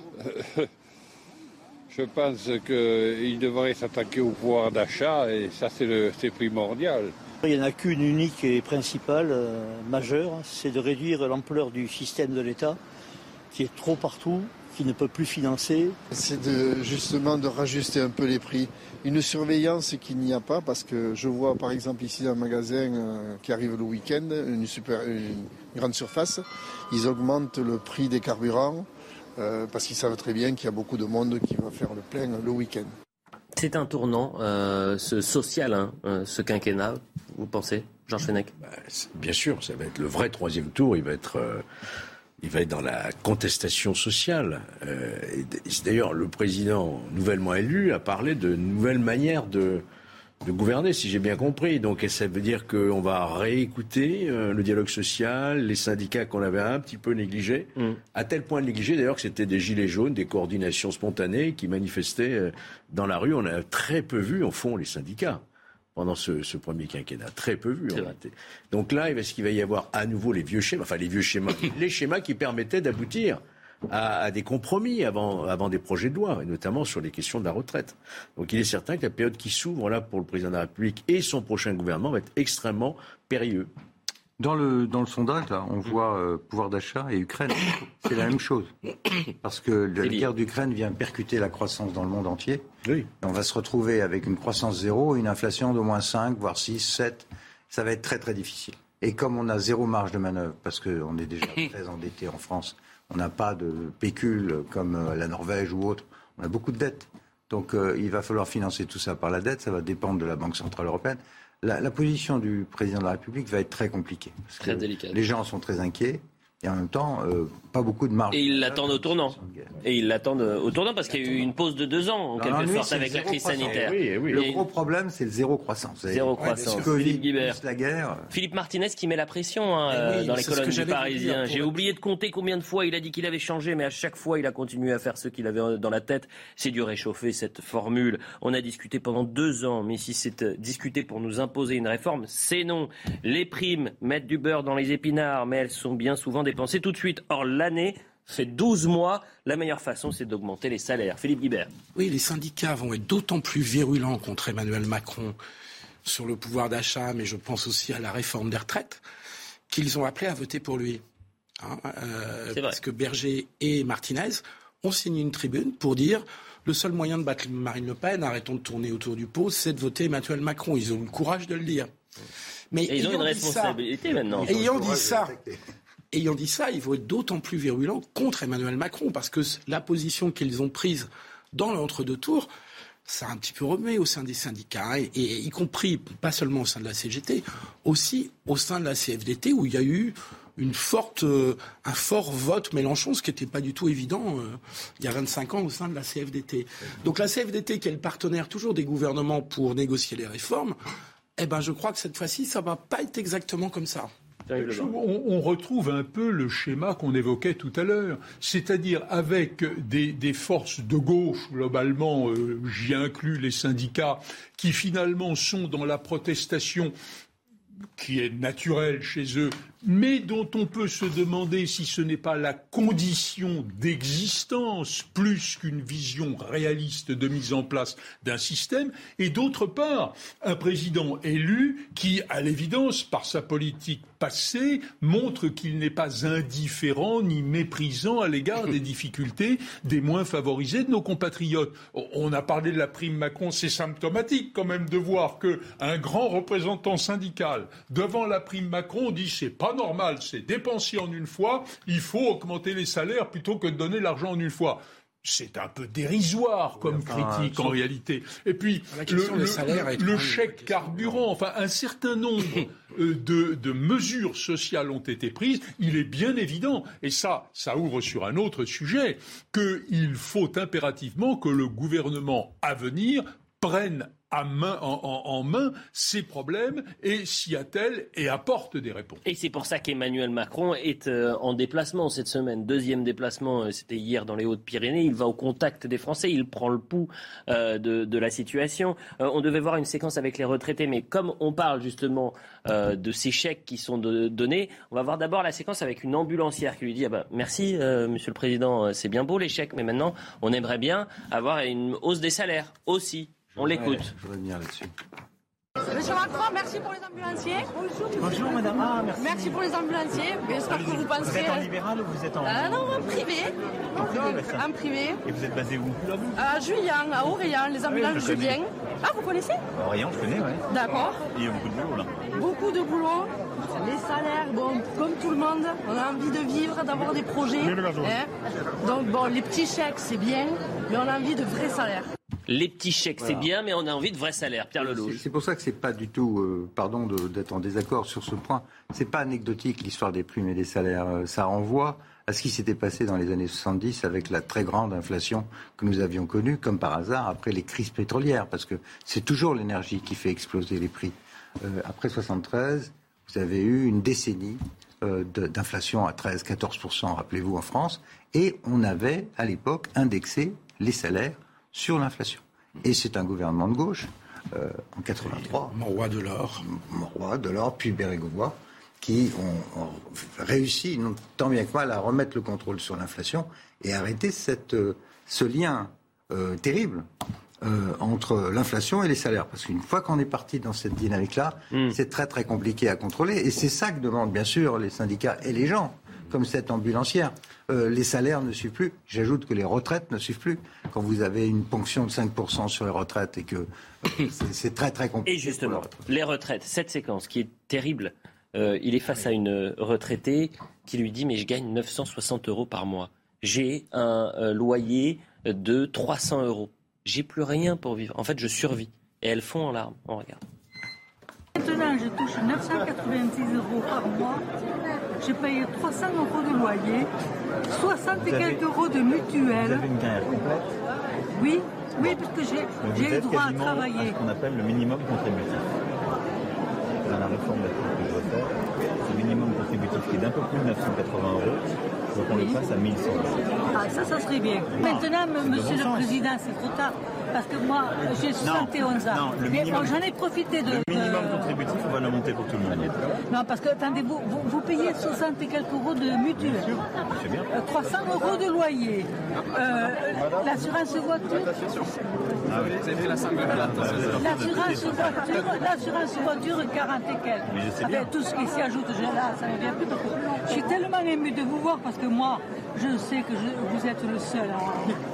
S17: Je pense qu'il devrait s'attaquer au pouvoir d'achat et ça c'est, le, c'est primordial.
S18: Il n'y en a qu'une unique et principale, euh, majeure, c'est de réduire l'ampleur du système de l'État qui est trop partout, qui ne peut plus financer.
S19: C'est de, justement de rajuster un peu les prix. Une surveillance qu'il n'y a pas parce que je vois par exemple ici un magasin euh, qui arrive le week-end, une, super, une grande surface, ils augmentent le prix des carburants. Euh, parce qu'ils savent très bien qu'il y a beaucoup de monde qui va faire le plein le week-end.
S1: C'est un tournant euh, ce social, hein, euh, ce quinquennat, vous pensez, Georges Fenech ?
S4: bah, Bien sûr, ça va être le vrai troisième tour, il va être, euh, il va être dans la contestation sociale. Euh, et d'ailleurs, le président nouvellement élu a parlé de nouvelles manières de, de gouverner, si j'ai bien compris. Donc ça veut dire qu'on va réécouter euh, le dialogue social, les syndicats qu'on avait un petit peu négligés, mmh. à tel point négligés d'ailleurs que c'était des gilets jaunes, des coordinations spontanées qui manifestaient euh, dans la rue. On a très peu vu, au fond, les syndicats pendant ce, ce premier quinquennat. Très peu vu, en réalité. Donc là, est-ce qu'il va y avoir à nouveau les vieux schémas, enfin les vieux schémas, les schémas qui permettaient d'aboutir À, à des compromis avant, avant des projets de loi, et notamment sur les questions de la retraite. Donc il est certain que la période qui s'ouvre là pour le président de la République et son prochain gouvernement va être extrêmement périlleux.
S5: Dans le, dans le sondage, là, on voit euh, pouvoir d'achat et Ukraine. C'est la même chose. Parce que la guerre d'Ukraine vient percuter la croissance dans le monde entier.
S4: Oui.
S5: On va se retrouver avec une croissance zéro, une inflation d'au moins cinq, voire six, sept. Ça va être très très difficile. Et comme on a zéro marge de manœuvre, parce qu'on est déjà très endetté en France, on n'a pas de pécule comme la Norvège ou autre. On a beaucoup de dettes. Donc euh, il va falloir financer tout ça par la dette. Ça va dépendre de la Banque Centrale Européenne. La, la position du président de la République va être très compliquée. Parce
S1: très
S5: que
S1: délicate.
S5: Les gens sont très inquiets. Et en même temps, euh, pas beaucoup de marge.
S1: Et ils l'attendent au tournant. Et ils l'attendent au tournant parce qu'il y a eu une pause de deux ans, en quelque
S5: non,
S1: sorte, avec la crise sanitaire.
S5: Oui, oui. Le gros problème, c'est le zéro croissance.
S1: Zéro croissance.
S5: Philippe Guibert. La guerre.
S1: Philippe Martinez qui met la pression hein, oui, dans les colonnes du Parisien. J'ai oublié de compter combien de fois il a dit qu'il avait changé, mais à chaque fois, il a continué à faire ce qu'il avait dans la tête. C'est du réchauffer, cette formule. On a discuté pendant deux ans, mais si c'est discuté pour nous imposer une réforme, c'est non. Les primes mettent du beurre dans les épinards, mais elles sont bien souvent dépensées tout de suite. Or, l'année fait douze mois. La meilleure façon, c'est d'augmenter les salaires. Philippe Guibert.
S7: Oui, les syndicats vont être d'autant plus virulents contre Emmanuel Macron sur le pouvoir d'achat, mais je pense aussi à la réforme des retraites, qu'ils ont appelé à voter pour lui. Hein, euh, parce que Berger et Martinez ont signé une tribune pour dire le seul moyen de battre Marine Le Pen, arrêtons de tourner autour du pot, c'est de voter Emmanuel Macron. Ils ont le courage de le dire. Mais
S1: et ils ont une responsabilité
S7: ça,
S1: maintenant.
S7: Ayant dit ça... Ayant dit ça, ils vont être d'autant plus virulents contre Emmanuel Macron, parce que la position qu'ils ont prise dans l'entre-deux tours, ça a un petit peu remué au sein des syndicats, et, et y compris, pas seulement au sein de la C G T, aussi au sein de la C F D T, où il y a eu une forte, euh, un fort vote Mélenchon, ce qui n'était pas du tout évident euh, il y a vingt-cinq ans au sein de la C F D T. Donc la C F D T, qui est le partenaire toujours des gouvernements pour négocier les réformes, eh ben, je crois que cette fois-ci, ça ne va pas être exactement comme ça.
S6: On, on retrouve un peu le schéma qu'on évoquait tout à l'heure, c'est-à-dire avec des, des forces de gauche, globalement, euh, j'y inclus les syndicats, qui finalement sont dans la protestation qui est naturelle chez eux, mais dont on peut se demander si ce n'est pas la condition d'existence plus qu'une vision réaliste de mise en place d'un système, et d'autre part, un président élu qui, à l'évidence, par sa politique passée, montre qu'il n'est pas indifférent ni méprisant à l'égard des difficultés des moins favorisés de nos compatriotes. On a parlé de la prime Macron, c'est symptomatique quand même de voir qu'un grand représentant syndical, devant la prime Macron, dit c'est pas normal, c'est dépensé en une fois, il faut augmenter les salaires plutôt que de donner l'argent en une fois. C'est un peu dérisoire comme oui, enfin, critique en réalité. Et puis le, le, le chèque carburant, enfin un certain nombre euh, de, de mesures sociales ont été prises. Il est bien évident, et ça, ça ouvre sur un autre sujet, qu'il faut impérativement que le gouvernement à venir prenne à main, en, en, en main ces problèmes et s'y attelle et apporte des réponses.
S1: Et c'est pour ça qu'Emmanuel Macron est euh, en déplacement cette semaine. Deuxième déplacement, euh, c'était hier dans les Hautes-Pyrénées. Il va au contact des Français, il prend le pouls euh, de, de la situation. Euh, on devait voir une séquence avec les retraités, mais comme on parle justement euh, de ces chèques qui sont de, donnés, on va voir d'abord la séquence avec une ambulancière qui lui dit ah bah, « Merci, euh, Monsieur le Président, c'est bien beau les chèques, mais maintenant, on aimerait bien avoir une hausse des salaires aussi. » On l'écoute.
S5: Je voudrais venir là-dessus.
S20: Monsieur Macron, merci pour les ambulanciers. Bonjour.
S21: Bonjour madame. Ah, merci.
S20: Merci pour les ambulanciers. J'espère que vous penserez...
S21: Vous êtes en libéral ou vous êtes en...
S20: Euh, non, en privé.
S21: En privé,
S20: En privé.
S21: Et vous êtes basé où?
S20: À Juillan, à Aurélien, les ambulances
S21: oui,
S20: Julien. Ah, vous connaissez?
S21: Aurélien, je connais, oui.
S20: D'accord.
S21: Il y a beaucoup de boulot là.
S20: Beaucoup de boulot. Les salaires, bon, comme tout le monde, on a envie de vivre, d'avoir des projets. Hein. Donc bon, les petits chèques, c'est bien, mais on a envie de vrais salaires.
S1: Les petits chèques, voilà. C'est bien, mais on a envie de vrais salaires. Pierre Lelouch.
S5: C'est, c'est pour ça que c'est pas du tout, euh, pardon de, d'être en désaccord sur ce point, c'est pas anecdotique l'histoire des primes et des salaires. Euh, ça renvoie à ce qui s'était passé dans les années soixante-dix avec la très grande inflation que nous avions connue, comme par hasard, après les crises pétrolières, parce que c'est toujours l'énergie qui fait exploser les prix. Euh, après soixante-treize, vous avez eu une décennie euh, de, d'inflation à treize à quatorze pour cent, rappelez-vous, en France, et on avait, à l'époque, indexé les salaires sur l'inflation. Et c'est un gouvernement de gauche, euh, en quatre-vingt-trois.
S7: Mauroy Delors.
S5: Mauroy Delors, puis Bérégovoy, qui ont, ont réussi, non, tant bien que mal, à remettre le contrôle sur l'inflation et arrêter cette, euh, ce lien euh, terrible euh, entre l'inflation et les salaires. Parce qu'une fois qu'on est parti dans cette dynamique-là, mmh. c'est très très compliqué à contrôler. Et c'est ça que demandent bien sûr les syndicats et les gens, comme cette ambulancière. Euh, les salaires ne suivent plus. J'ajoute que les retraites ne suivent plus. Quand vous avez une ponction de cinq pour cent sur les retraites et que euh, c'est, c'est très très compliqué.
S1: Et justement, les retraites, cette séquence qui est terrible. Euh, il est face à une retraitée qui lui dit « mais je gagne neuf cent soixante euros par mois. J'ai un euh, loyer de trois cents euros. J'ai plus rien pour vivre. En fait, je survis. » Et elle fond en larmes. On regarde.
S3: Maintenant, je touche neuf cent quatre-vingt-six euros par mois. J'ai payé trois cents euros de loyer, soixante et quelques euros de mutuelle.
S21: Vous avez une carrière complète ?
S3: Oui, oui, parce que j'ai, j'ai le droit à travailler.
S21: À ce qu'on appelle le minimum contributif. Dans la réforme de la que je veux faire, ce minimum contributif qui est d'un peu plus de neuf cent quatre-vingts euros, donc on oui. le passe à mille cent euros.
S3: Ah, ça, ça serait bien. Non. Maintenant, c'est monsieur le sens. Président, c'est trop tard. Parce que moi, j'ai soixante et onze ans. Non, le mais minimum, bon, j'en ai profité de...
S21: Le minimum de... contributif, on va le monter pour tout le monde.
S3: Non, parce que, attendez, vous, vous, vous payez soixante et quelques euros de mutuelle. Bien sûr, c'est bien. Euh, trois cents euros de loyer. Euh, l'assurance voiture...
S21: Ah oui. Vous avez fait la
S3: L'assurance voiture, l'assurance voiture, quarante et quelques.
S21: Mais je sais bien.
S3: Avec tout ce qui s'y ajoute, là, ça ne vient plus. Je suis tellement ému de vous voir parce que moi, je sais que je, vous êtes le seul à...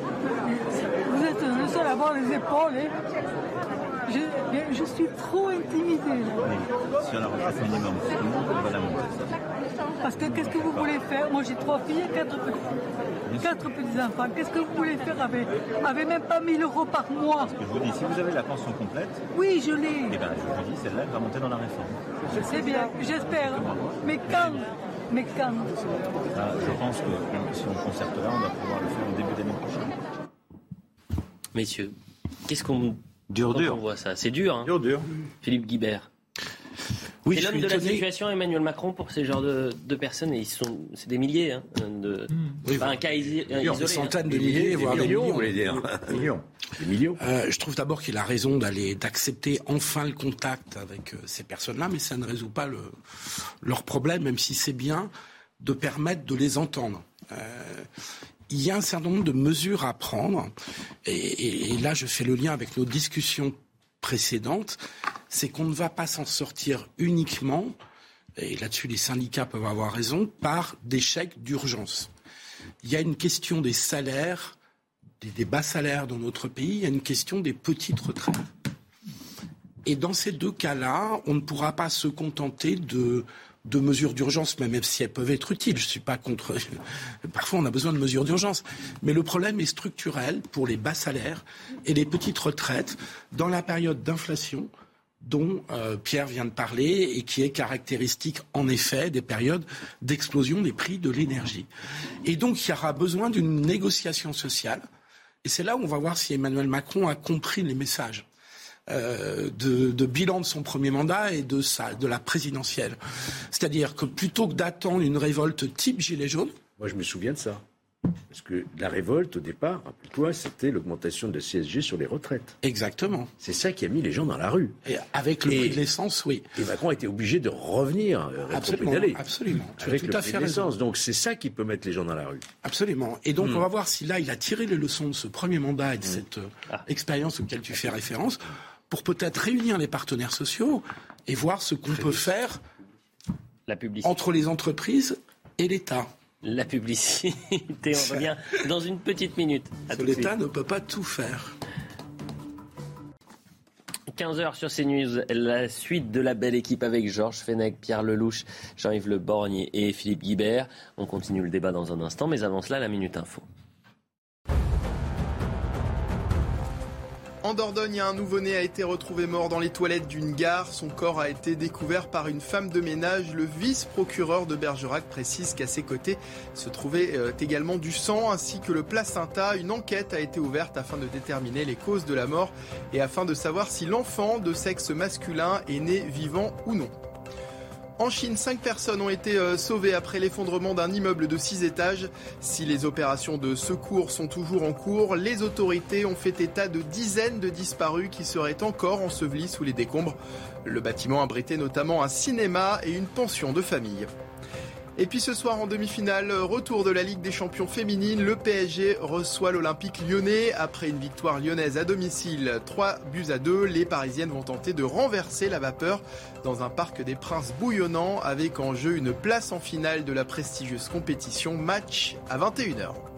S3: Vous êtes le seul à avoir les épaules. Hein. Je, je suis trop intimidée.
S21: Oui, sur la retraite minimum, on va la monter.
S3: Parce que qu'est-ce que vous voulez faire ? Moi j'ai trois filles et quatre petits, quatre petits-enfants. Qu'est-ce que vous voulez faire avec, avec même pas mille euros par mois ?
S21: Ce que je vous dis, si vous avez la pension complète...
S3: Oui, je l'ai.
S21: Eh bien, je vous dis, celle-là, elle va monter dans la réforme.
S3: Je sais bien, j'espère. Mais quand ? Mais quand ?
S21: Ah, je pense que si on concerte là, on va pouvoir le faire au début d'année prochaine.
S1: Messieurs, qu'est-ce qu'on...
S5: Dur, dur.
S1: On voit ça. C'est dur, hein.
S5: Dur, dur.
S1: Philippe Guibert.
S7: Oui,
S1: c'est l'homme de
S7: étonné.
S1: la situation, Emmanuel Macron, pour ces genres de, de personnes. Et ils sont, c'est des milliers. Hein, de, mmh. oui, pas un cas isi- isolé.
S7: Des centaines hein. de milliers,
S4: milliers
S7: voire
S4: des millions,
S7: des
S4: vous voulez dire. Des millions. Des millions.
S7: Euh, je trouve d'abord qu'il a raison d'aller, d'accepter enfin le contact avec euh, ces personnes-là, mais ça ne résout pas le, leur problème, même si c'est bien de permettre de les entendre. Euh, il y a un certain nombre de mesures à prendre, et, et, et là je fais le lien avec nos discussions précédentes, c'est qu'on ne va pas s'en sortir uniquement, et là-dessus les syndicats peuvent avoir raison, par des chèques d'urgence. Il y a une question des salaires, des, des bas salaires dans notre pays, il y a une question des petites retraites. Et dans ces deux cas-là, on ne pourra pas se contenter de... de mesures d'urgence, même si elles peuvent être utiles. Je ne suis pas contre... Parfois, on a besoin de mesures d'urgence. Mais le problème est structurel pour les bas salaires et les petites retraites dans la période d'inflation dont euh, Pierre vient de parler et qui est caractéristique, en effet, des périodes d'explosion des prix de l'énergie. Et donc, il y aura besoin d'une négociation sociale. Et c'est là où on va voir si Emmanuel Macron a compris les messages. Euh, de, de bilan de son premier mandat et de, sa, de la présidentielle. C'est-à-dire que plutôt que d'attendre une révolte type Gilets jaunes...
S4: Moi, je me souviens de ça. Parce que la révolte, au départ, rappelle-toi, c'était l'augmentation de la C S G sur les retraites.
S7: Exactement.
S4: C'est ça qui a mis les gens dans la rue.
S7: Et avec le et, prix de l'essence, oui.
S4: Et Macron a été obligé de revenir, euh,
S7: absolument, absolument. Tu
S4: avec
S7: as tout
S4: le
S7: à
S4: prix
S7: fait
S4: de l'essence.
S7: raison.
S4: Donc c'est ça qui peut mettre les gens dans la rue.
S7: Absolument. Et donc, mmh. on va voir si là, il a tiré les leçons de ce premier mandat et de mmh. cette euh, ah. expérience auquel tu fais référence, pour peut-être réunir les partenaires sociaux et voir ce qu'on Très peut bien. faire
S1: la publicité.
S7: Entre les entreprises et l'État.
S1: La publicité, on revient dans une petite minute.
S7: L'État ne peut pas tout faire.
S1: quinze heures sur CNews, la suite de la belle équipe avec Georges Fenech, Pierre Lelouch, Jean-Yves Le Borgne et Philippe Guibert. On continue le débat dans un instant, mais avant cela, la Minute Info.
S2: En Dordogne, un nouveau-né a été retrouvé mort dans les toilettes d'une gare. Son corps a été découvert par une femme de ménage. Le vice-procureur de Bergerac précise qu'à ses côtés se trouvait également du sang ainsi que le placenta. Une enquête a été ouverte afin de déterminer les causes de la mort et afin de savoir si l'enfant de sexe masculin est né vivant ou non. En Chine, cinq personnes ont été sauvées après l'effondrement d'un immeuble de six étages. Si les opérations de secours sont toujours en cours, les autorités ont fait état de dizaines de disparus qui seraient encore ensevelis sous les décombres. Le bâtiment abritait notamment un cinéma et une pension de famille. Et puis ce soir en demi-finale, retour de la Ligue des Champions féminines, le P S G reçoit l'Olympique lyonnais. Après une victoire lyonnaise à domicile, trois buts à deux, les Parisiennes vont tenter de renverser la vapeur dans un parc des Princes bouillonnant avec en jeu une place en finale de la prestigieuse compétition, match à vingt et une heures.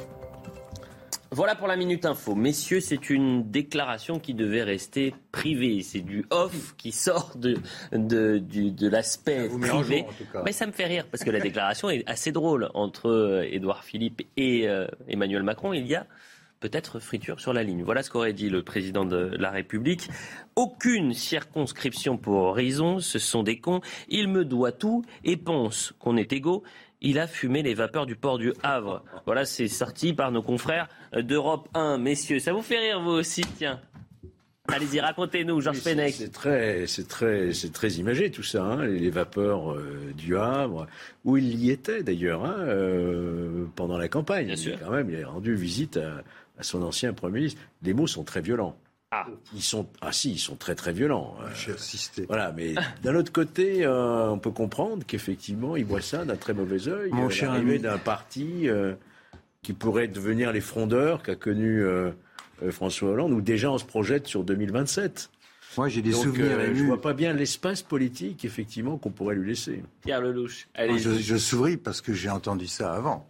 S1: Voilà pour la Minute Info. Messieurs, c'est une déclaration qui devait rester privée. C'est du off qui sort de, de, du, de l'aspect privé. Mais ça me fait rire parce que la déclaration est assez drôle entre Édouard Philippe et euh, Emmanuel Macron. Il y a peut-être friture sur la ligne. Voilà ce qu'aurait dit le président de la République. Aucune circonscription pour Horizon, ce sont des cons. Il me doit tout et pense qu'on est égaux. Il a fumé les vapeurs du port du Havre. Voilà, c'est sorti par nos confrères d'Europe un. Messieurs, ça vous fait rire vous aussi, tiens. Allez-y, racontez-nous, Georges
S4: oui,
S1: Fenech.
S4: C'est, c'est, très, c'est, très, c'est très imagé tout ça, hein, les vapeurs euh, du Havre, où il y était d'ailleurs hein, euh, pendant la campagne. Bien sûr. Quand même, il a rendu visite à, à son ancien Premier ministre. Les mots sont très violents. Ah. Ils sont, ah si, ils sont très très violents.
S5: J'ai assisté.
S4: Voilà, mais d'un autre côté, euh, on peut comprendre qu'effectivement, ils voient ça d'un très mauvais œil.
S5: Mon cher
S4: l'arrivée
S5: ami.
S4: d'un parti euh, qui pourrait devenir les frondeurs qu'a connu euh, euh, François Hollande, où déjà on se projette sur deux mille vingt-sept.
S5: Moi, j'ai des
S4: Donc,
S5: souvenirs
S4: euh,
S5: émus.
S4: je vois pas bien l'espace politique, effectivement, qu'on pourrait lui laisser.
S1: Pierre Lelouch, allez.
S5: Je, je souris parce que j'ai entendu ça avant.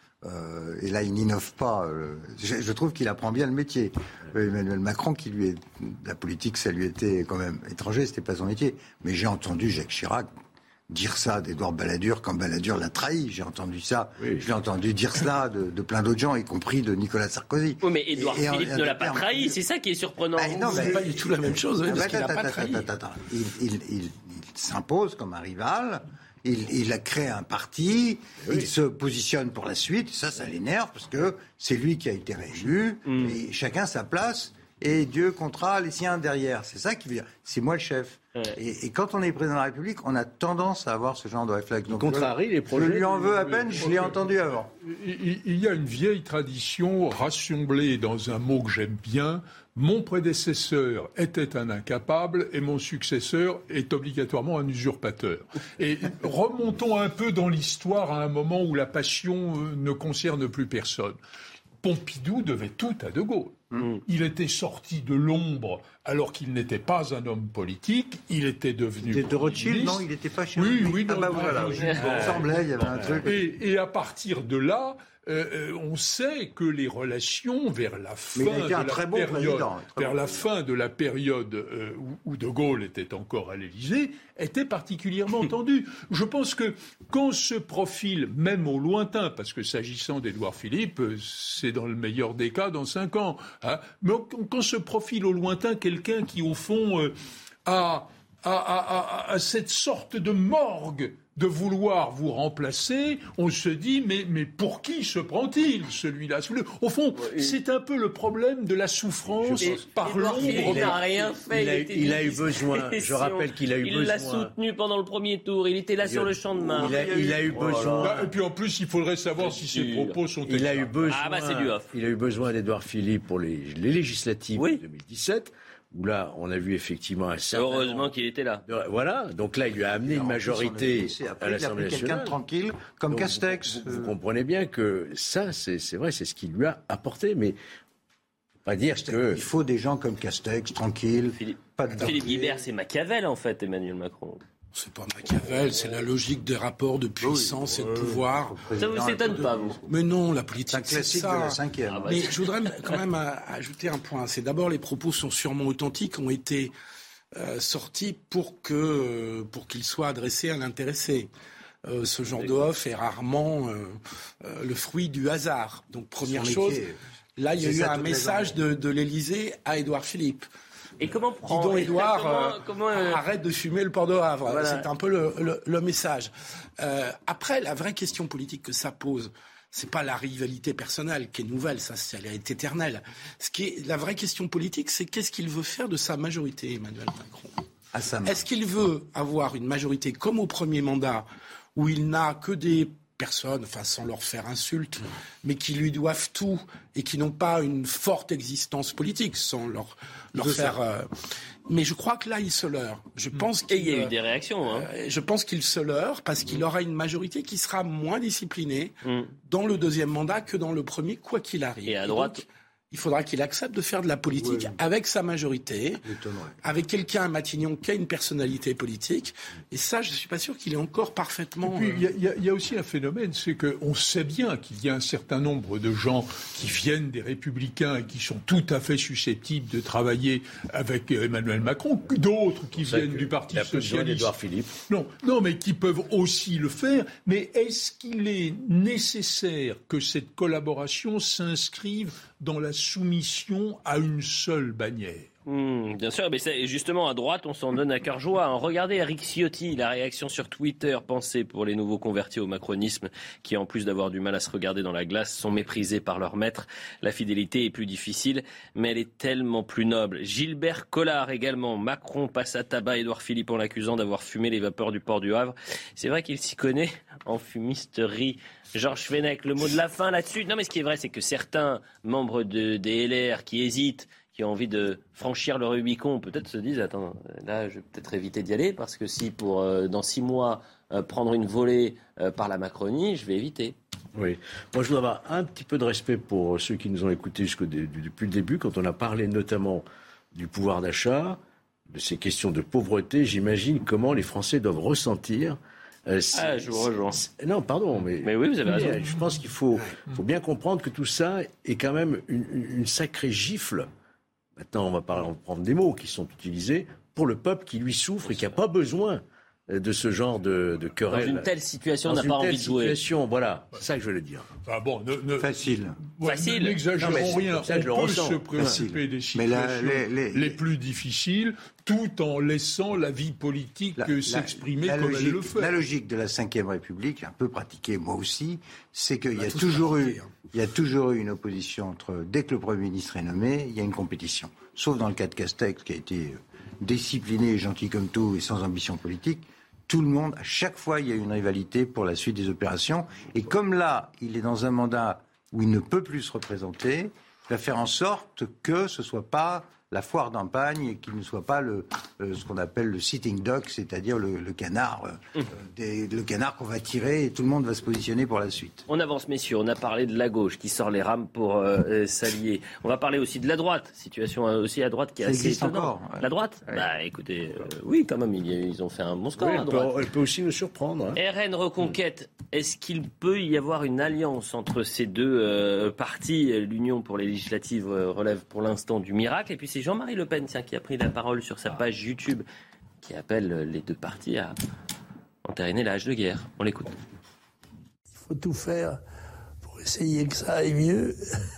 S5: Euh, et là, il n'innove pas. Euh, je, je trouve qu'il apprend bien le métier. Euh, Emmanuel Macron, qui lui est la politique, ça lui était quand même étranger, c'était pas son métier. Mais j'ai entendu Jacques Chirac dire ça d'Édouard Balladur quand Balladur l'a trahi. J'ai entendu ça. Oui. Je l'ai entendu dire cela de, de plein d'autres gens, y compris de Nicolas Sarkozy.
S1: Oui, mais Édouard
S5: et,
S1: Philippe
S5: et,
S1: ne l'a pas trahi. C'est ça qui est surprenant.
S5: Bah, non,
S7: c'est
S5: mais,
S7: pas du tout la même chose.
S5: Ah,
S7: parce
S5: bah,
S7: qu'il a pas trahi.
S5: Attends, attends, il, il, il, il s'impose comme un rival. Il, il a créé un parti, oui. Il se positionne pour la suite, ça, ça l'énerve, parce que c'est lui qui a été réélu, mm. Et chacun sa place, et Dieu comptera les siens derrière. C'est ça qui veut dire, c'est moi le chef. Ouais. Et, et quand on est président de la République, on a tendance à avoir ce genre de réflexe. Donc,
S4: contrarie les projets.
S5: Je lui en veux à peine, je l'ai entendu avant.
S6: Il, il y a une vieille tradition rassemblée dans un mot que j'aime bien. Mon prédécesseur était un incapable et mon successeur est obligatoirement un usurpateur. Et remontons un peu dans l'histoire à un moment où la passion ne concerne plus personne. Pompidou devait tout à De Gaulle. Mmh. Il était sorti de l'ombre alors qu'il n'était pas un homme politique. Il était devenu.
S5: Il était de Rothschild, non? Il n'était pas chez
S6: lui. Oui, oui.
S5: Ah bah voilà. Il me semblait, il y avait un truc.
S6: Et, et à partir de là, euh, on sait que les relations vers la fin de la
S5: bon
S6: période, vers
S5: bon
S6: la fin de la période euh, où, où De Gaulle était encore à l'Élysée, étaient particulièrement tendues. Je pense que quand se profile, même au lointain, parce que s'agissant d'Édouard Philippe, c'est dans le meilleur des cas dans cinq ans, hein, mais quand se profile au lointain quelqu'un qui au fond euh, a, a, a, a, a cette sorte de morgue de vouloir vous remplacer, on se dit, mais, mais pour qui se prend-il, celui-là? Au fond, ouais, c'est un peu le problème de la souffrance et, par l'ombre.
S1: Il n'a rien fait.
S4: Il a, il il a eu besoin, je rappelle qu'il a eu
S1: il
S4: besoin.
S1: Il l'a soutenu pendant le premier tour, il était là il sur le champ de Mars.
S4: Il a, il a eu besoin.
S6: Voilà. Et puis en plus, il faudrait savoir si ses propos sont
S4: il a eu besoin.
S1: Ah bah c'est du off.
S4: Il a eu besoin d'Édouard Philippe pour les, les législatives oui. de deux mille dix-sept. Où là, on a vu effectivement un certain
S1: Heureusement qu'il était là.
S4: De, voilà, donc là, il lui a amené une majorité
S5: après,
S4: à l'Assemblée nationale.
S5: Il a pris quelqu'un de tranquille, comme donc, Castex.
S4: Vous, vous, vous comprenez bien que ça, c'est, c'est vrai, c'est ce qu'il lui a apporté, mais pas dire que...
S5: Il faut des gens comme Castex, tranquille.
S1: Philippe, pas de Philippe Guibert, c'est Machiavel, en fait, Emmanuel Macron.
S7: C'est pas Machiavel, c'est la logique des rapports de puissance oui, et de pouvoir.
S1: Ça vous étonne pas, vous?
S7: Mais non, la politique,
S5: c'est, un
S7: c'est ça.
S5: De la cinquième.
S7: Ah bah, mais je voudrais quand même ajouter un point. C'est d'abord, les propos sont sûrement authentiques, ont été euh, sortis pour que, pour qu'ils soient adressés à l'intéressé. euh, ce genre de offre est rarement euh, euh, le fruit du hasard. Donc première chose, là il y a eu un message de, de l'Élysée à Édouard Philippe.
S1: Et comment prendre
S7: Dis donc, Édouard,
S1: comment,
S7: euh,
S1: comment, euh...
S7: arrête de fumer le port de Havre.
S1: Voilà.
S7: C'est un peu le, le, le message. Euh, après, la vraie question politique que ça pose, c'est pas la rivalité personnelle qui est nouvelle, ça, elle est éternelle. Ce qui est la vraie question politique, c'est qu'est-ce qu'il veut faire de sa majorité, Emmanuel Macron.
S5: À sa main.
S7: Est-ce qu'il veut avoir une majorité comme au premier mandat, où il n'a que des personnes, enfin sans leur faire insulte, mais qui lui doivent tout et qui n'ont pas une forte existence politique, sans leur, leur faire... Euh... Mais je crois que là, il se leurre. Je pense
S1: et il y a eu des réactions. Hein.
S7: Euh, je pense qu'il se leurre parce qu'il aura une majorité qui sera moins disciplinée
S1: mm.
S7: dans le deuxième mandat que dans le premier, quoi qu'il arrive.
S1: Et à droite...
S7: Et donc, il faudra qu'il accepte de faire de la politique ouais. avec sa majorité, avec quelqu'un à Matignon qui a une personnalité politique. Et ça, je ne suis pas sûr qu'il est encore parfaitement...
S6: Il y, y, y a aussi un phénomène, c'est qu'on sait bien qu'il y a un certain nombre de gens qui viennent des Républicains et qui sont tout à fait susceptibles de travailler avec Emmanuel Macron, d'autres qui viennent du Parti socialiste.
S4: Édouard Philippe.
S6: Non, non, mais qui peuvent aussi le faire. Mais est-ce qu'il est nécessaire que cette collaboration s'inscrive dans la soumission à une seule bannière?
S1: Mmh, bien sûr, mais c'est, justement à droite on s'en donne à cœur joie. Hein. Regardez Eric Ciotti, la réaction sur Twitter, pensée pour les nouveaux convertis au macronisme qui en plus d'avoir du mal à se regarder dans la glace sont méprisés par leur maître. La fidélité est plus difficile mais elle est tellement plus noble. Gilbert Collard également, Macron passe à tabac Édouard Philippe en l'accusant d'avoir fumé les vapeurs du port du Havre. C'est vrai qu'il s'y connaît en fumisterie. Georges Fenech, le mot de la fin là-dessus. Non mais ce qui est vrai c'est que certains membres de, des L R qui hésitent, qui ont envie de franchir le Rubicon, peut-être se disent, attends, là, je vais peut-être éviter d'y aller, parce que si pour, euh, dans six mois, euh, prendre une volée euh, par la Macronie, je vais éviter.
S4: Oui. Moi, je dois avoir un petit peu de respect pour ceux qui nous ont écoutés jusqu'au dé- depuis le début, quand on a parlé notamment du pouvoir d'achat, de ces questions de pauvreté. J'imagine comment les Français doivent ressentir. Euh, si,
S1: ah, je vous rejoins.
S4: Si, non, pardon, mais,
S1: mais oui, vous avez raison.
S4: Je pense qu'il faut, faut bien comprendre que tout ça est quand même une, une sacrée gifle. Maintenant, on va prendre des mots qui sont utilisés pour le peuple qui lui souffre et qui n'a pas besoin de ce genre de, de querelle.
S1: Dans une telle situation, on n'a pas envie de jouer.
S4: Situation, voilà, c'est ça que je veux le dire.
S6: Ah bon, ne, ne,
S5: Facile.
S6: Ouais,
S1: Facile.
S6: N'exagérons
S4: non,
S6: rien.
S4: Ça,
S6: on
S4: on
S6: peut
S4: ressens.
S6: se préoccuper
S5: Facile.
S6: des situations
S5: là, les, les,
S6: les plus difficiles, tout en laissant la vie politique
S5: la,
S6: s'exprimer
S5: la, la
S6: comme
S5: logique,
S6: elle le fait.
S5: La logique de la cinquième République, un peu pratiquée moi aussi, c'est qu'il y a
S7: tous
S5: toujours eu,
S7: hein.
S5: il y a toujours eu une opposition entre, dès que le Premier ministre est nommé, il y a une compétition. Sauf dans le cas de Castex, qui a été discipliné, gentil comme tout et sans ambition politique. Tout le monde, à chaque fois, il y a une rivalité pour la suite des opérations. Et comme là, il est dans un mandat où il ne peut plus se représenter, il va faire en sorte que ce ne soit pas la foire d'Empagne et qu'il ne soit pas le, euh, ce qu'on appelle le sitting duck, c'est-à-dire le, le canard, euh, mmh. des, le canard qu'on va tirer et tout le monde va se positionner pour la suite.
S1: On avance, messieurs. On a parlé de la gauche qui sort les rames pour euh, s'allier. On va parler aussi de la droite. Situation aussi à droite qui est
S5: Ça
S1: assez
S5: existe
S1: étonnante.
S5: encore. Ouais.
S1: La droite
S5: ouais.
S1: Bah écoutez, euh, oui quand même, ils, ils ont fait un bon score
S4: Oui,
S1: à
S4: elle,
S1: droite.
S4: peut, elle peut aussi nous surprendre. Hein.
S1: R N Reconquête, est-ce qu'il peut y avoir une alliance entre ces deux euh, partis? L'Union pour les législatives euh, relève pour l'instant du miracle. Et puis c'est Jean-Marie Le Pen, tiens, qui a pris la parole sur sa page YouTube, qui appelle les deux partis à entériner la hache de guerre. On l'écoute.
S8: Il faut tout faire pour essayer que ça aille mieux.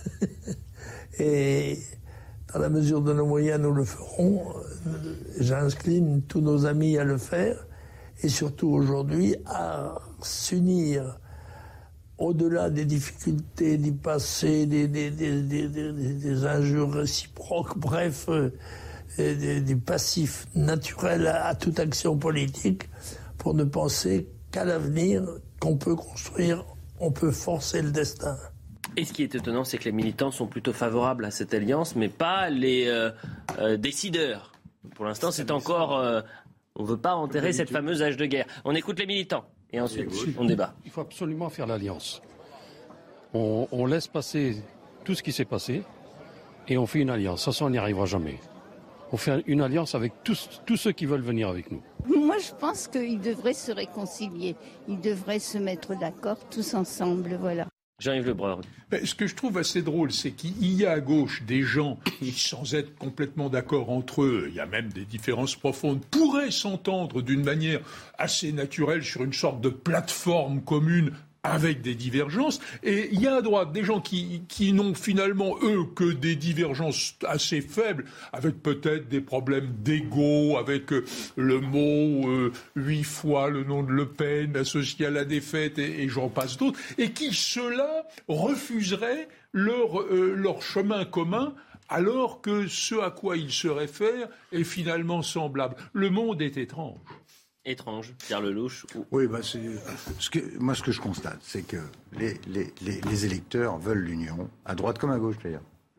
S8: Et dans la mesure de nos moyens, nous le ferons. J'incline tous nos amis à le faire. Et surtout aujourd'hui, à s'unir au-delà des difficultés du passé, des, des, des, des, des, des injures réciproques, bref, euh, des, des passifs naturels à, à toute action politique, pour ne penser qu'à l'avenir, qu'on peut construire, on peut forcer le destin.
S1: Et ce qui est étonnant, c'est que les militants sont plutôt favorables à cette alliance, mais pas les euh, euh, décideurs. Pour l'instant, c'est encore... Euh, on ne veut pas enterrer cette fameuse hache de guerre. On écoute les militants. Et ensuite, on débat.
S22: Il faut absolument faire l'alliance. On, on laisse passer tout ce qui s'est passé et on fait une alliance. Sans ça, on n'y arrivera jamais. On fait une alliance avec tous, tous ceux qui veulent venir avec nous.
S23: Moi, je pense qu'ils devraient se réconcilier. Ils devraient se mettre d'accord tous ensemble, voilà.
S1: Jean-Yves Le Brun.
S6: Ben, ce que je trouve assez drôle, c'est qu'il y a à gauche des gens qui, sans être complètement d'accord entre eux, il y a même des différences profondes, pourraient s'entendre d'une manière assez naturelle sur une sorte de plateforme commune avec des divergences. Et il y a à droite des gens qui, qui n'ont finalement, eux, que des divergences assez faibles, avec peut-être des problèmes d'ego, avec euh, le mot euh, huit fois le nom de Le Pen associé à la défaite, et, et j'en passe d'autres, et qui, ceux-là, refuseraient leur, euh, leur chemin commun, alors que ce à quoi ils se réfèrent est finalement semblable. Le monde est étrange.
S1: Étrange, Pierre Lelouch. Ou...
S5: Oui, bah c'est ce que moi ce que je constate, c'est que les, les, les, les électeurs veulent l'union, à droite comme à gauche d'ailleurs.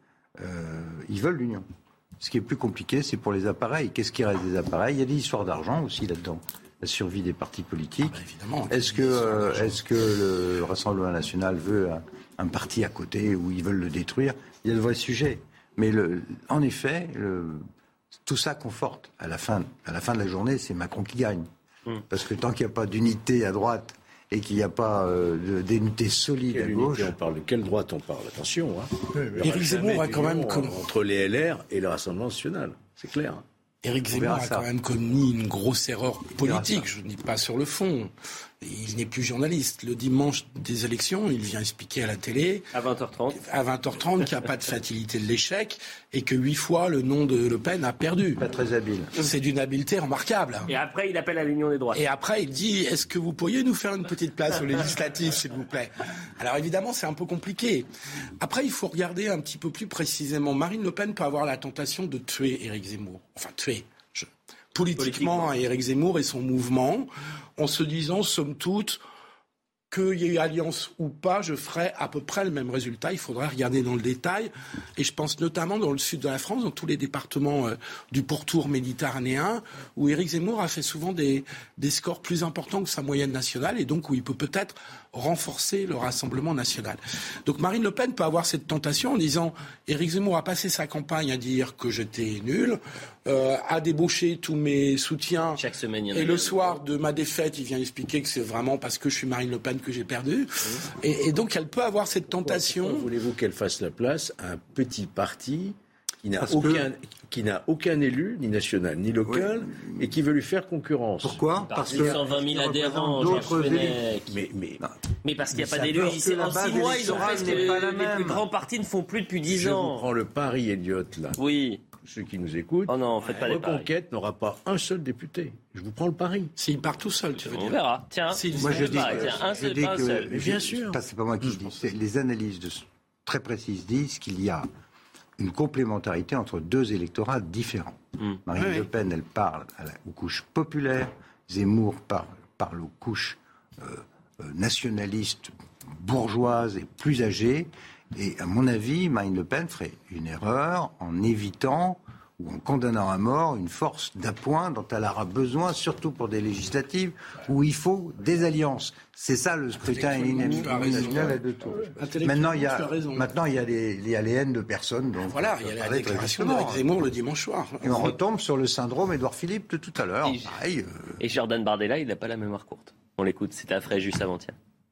S5: Euh, ils veulent l'union. Ce qui est plus compliqué, c'est pour les appareils. Qu'est-ce qui reste des appareils ? Il y a des histoires d'argent aussi là-dedans. La survie des partis politiques. Ah bah évidemment. Est-ce que euh, est-ce que le Rassemblement national veut un, un parti à côté où ils veulent le détruire ? Il y a de vrais sujets. Mais le, en effet, le, tout ça conforte. À la fin, à la fin de la journée, c'est Macron qui gagne. Parce que tant qu'il n'y a pas d'unité à droite et qu'il n'y a pas euh, d'unité solide à gauche...
S4: On parle de quelle droite on parle ? Attention. Hein.
S7: Éric Zemmour a quand même...
S4: Comme... Entre les L R et le Rassemblement national, c'est clair.
S7: Éric Zemmour a quand même commis une grosse erreur politique, je ne dis pas sur le fond. Il n'est plus journaliste. Le dimanche des élections, il vient expliquer à la télé...
S1: À vingt heures trente.
S7: À vingt heures trente, qu'il n'y a pas de fatalité de l'échec et que huit fois le nom de Le Pen a perdu.
S5: Pas très habile.
S7: C'est d'une habileté remarquable.
S1: Et après, il appelle à l'union des droites.
S7: Et après, il dit, est-ce que vous pourriez nous faire une petite place aux législatives, s'il vous plaît ? Alors évidemment, c'est un peu compliqué. Après, il faut regarder un petit peu plus précisément. Marine Le Pen peut avoir la tentation de tuer Éric Zemmour. Enfin, tuer. Je... Politiquement, Éric Zemmour et son mouvement, en se disant, somme toute, qu'il y ait eu alliance ou pas, je ferai à peu près le même résultat. Il faudrait regarder dans le détail. Et je pense notamment dans le sud de la France, dans tous les départements euh, du pourtour méditerranéen, où Éric Zemmour a fait souvent des, des scores plus importants que sa moyenne nationale, et donc où il peut peut-être renforcer le Rassemblement national. Donc Marine Le Pen peut avoir cette tentation en disant Éric Zemmour a passé sa campagne à dire que j'étais nul, euh, a débauché tous mes soutiens.
S1: Chaque semaine, il y en a
S7: et le soir de ma défaite, il vient expliquer que c'est vraiment parce que je suis Marine Le Pen que j'ai perdu. Mmh. Et, et donc elle peut avoir cette tentation.
S4: Pourquoi voulez-vous qu'elle fasse la place à un petit parti qui n'a aucun, que... qui n'a aucun élu, ni national, ni local, oui. et qui veut lui faire concurrence.
S5: Pourquoi ?
S1: Parce que cent vingt mille adhérents,
S5: d'autres
S1: mais,
S5: mais, mais,
S1: mais parce qu'il n'y a pas d'élus. En six mois, ils ont fait ce que les plus grands partis ne font plus depuis dix ans.
S4: Je vous prends le pari, Elliot, là.
S1: Oui.
S4: Ceux qui nous écoutent.
S1: Oh non, faites pas les paris.
S4: Reconquête n'aura pas un seul député. Je vous prends le pari.
S7: S'il part tout seul, tu veux dire.
S1: On verra. Tiens,
S5: moi je dis,
S1: pareil, tiens, un
S5: je
S1: seul,
S5: dis
S1: pas un
S5: que,
S1: seul.
S5: Mais bien sûr. C'est pas moi qui le dis. C'est les analyses de, très précises disent qu'il y a une complémentarité entre deux électorats différents. Mmh. Marine oui, Le Pen, elle parle à la, aux couches populaires. Zemmour parle, parle aux couches euh, euh, nationalistes, bourgeoises et plus âgées. Et à mon avis, Marine Le Pen ferait une erreur en évitant ou en condamnant à mort une force d'appoint dont elle aura besoin, surtout pour des législatives, où il faut des alliances. C'est ça le scrutin uninominal à deux tours. Maintenant, il y a, maintenant, il y a les, il y a les haines de personnes. Donc
S7: voilà, il y a la déclaration d'Éric Zemmour le dimanche soir.
S5: Et on retombe sur le syndrome Édouard Philippe de tout à l'heure.
S1: Et,
S5: Pareil, euh...
S1: et Jordan Bardella, il n'a pas la mémoire courte. On l'écoute, c'était à Fréjus avant-hier.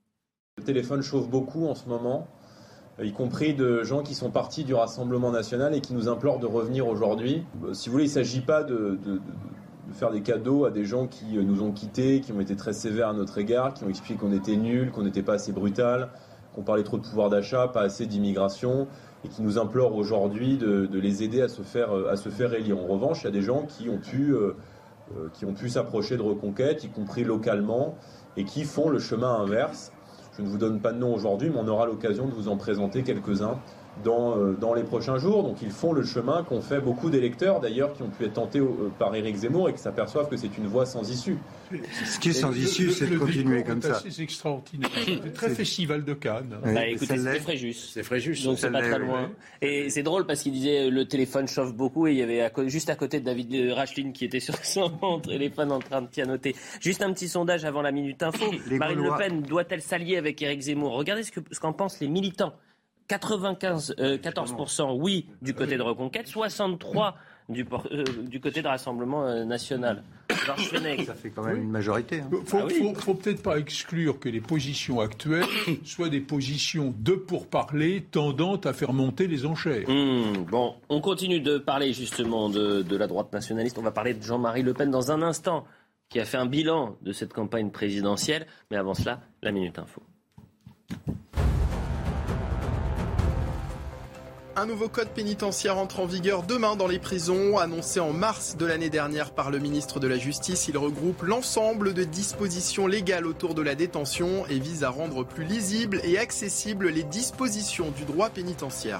S11: Le téléphone chauffe beaucoup en ce moment, y compris de gens qui sont partis du Rassemblement national et qui nous implorent de revenir aujourd'hui. Si vous voulez, il ne s'agit pas de, de, de faire des cadeaux à des gens qui nous ont quittés, qui ont été très sévères à notre égard, qui ont expliqué qu'on était nuls, qu'on n'était pas assez brutal, qu'on parlait trop de pouvoir d'achat, pas assez d'immigration, et qui nous implorent aujourd'hui de, de les aider à se faire, à se faire élire. En revanche, il y a des gens qui ont pu, euh, qui ont pu s'approcher de Reconquête, y compris localement, et qui font le chemin inverse. Je ne vous donne pas de nom aujourd'hui, mais on aura l'occasion de vous en présenter quelques-uns dans, euh, dans les prochains jours. Donc ils font le chemin qu'ont fait beaucoup d'électeurs, d'ailleurs, qui ont pu être tentés euh, par Éric Zemmour et qui s'aperçoivent que c'est une voie sans issue.
S5: Ce qui est sans issue, c'est de continuer comme ça.
S6: C'est extraordinaire. C'est très festival de Cannes.
S1: Oui, bah, écoutez, c'était Fréjus.
S4: C'est Fréjus.
S1: Donc c'est pas très loin. Et c'est drôle parce qu'il disait le téléphone chauffe beaucoup et il y avait à co- juste à côté de David Racheline qui était sur son téléphone en train de pianoter. Juste un petit sondage avant la Minute Info. Les Marine Gaulois. Le Pen doit-elle s'allier avec Éric Zemmour ? Regardez ce, que, ce qu'en pensent les militants. quatre-vingt-quinze, euh, quatorze pour cent oui du côté de Reconquête, soixante-trois du, euh, du côté de Rassemblement euh, national. Georges Fenech.
S5: Ça fait quand même oui. une majorité.
S6: Il hein. ne faut, ah oui. faut, faut peut-être pas exclure que les positions actuelles soient des positions de pourparlers tendant à faire monter les enchères.
S1: Mmh, bon, on continue de parler justement de, de la droite nationaliste. On va parler de Jean-Marie Le Pen dans un instant, qui a fait un bilan de cette campagne présidentielle. Mais avant cela, la Minute Info.
S2: Un nouveau code pénitentiaire entre en vigueur demain dans les prisons. Annoncé en mars de l'année dernière par le ministre de la Justice, il regroupe l'ensemble de dispositions légales autour de la détention et vise à rendre plus lisibles et accessibles les dispositions du droit pénitentiaire.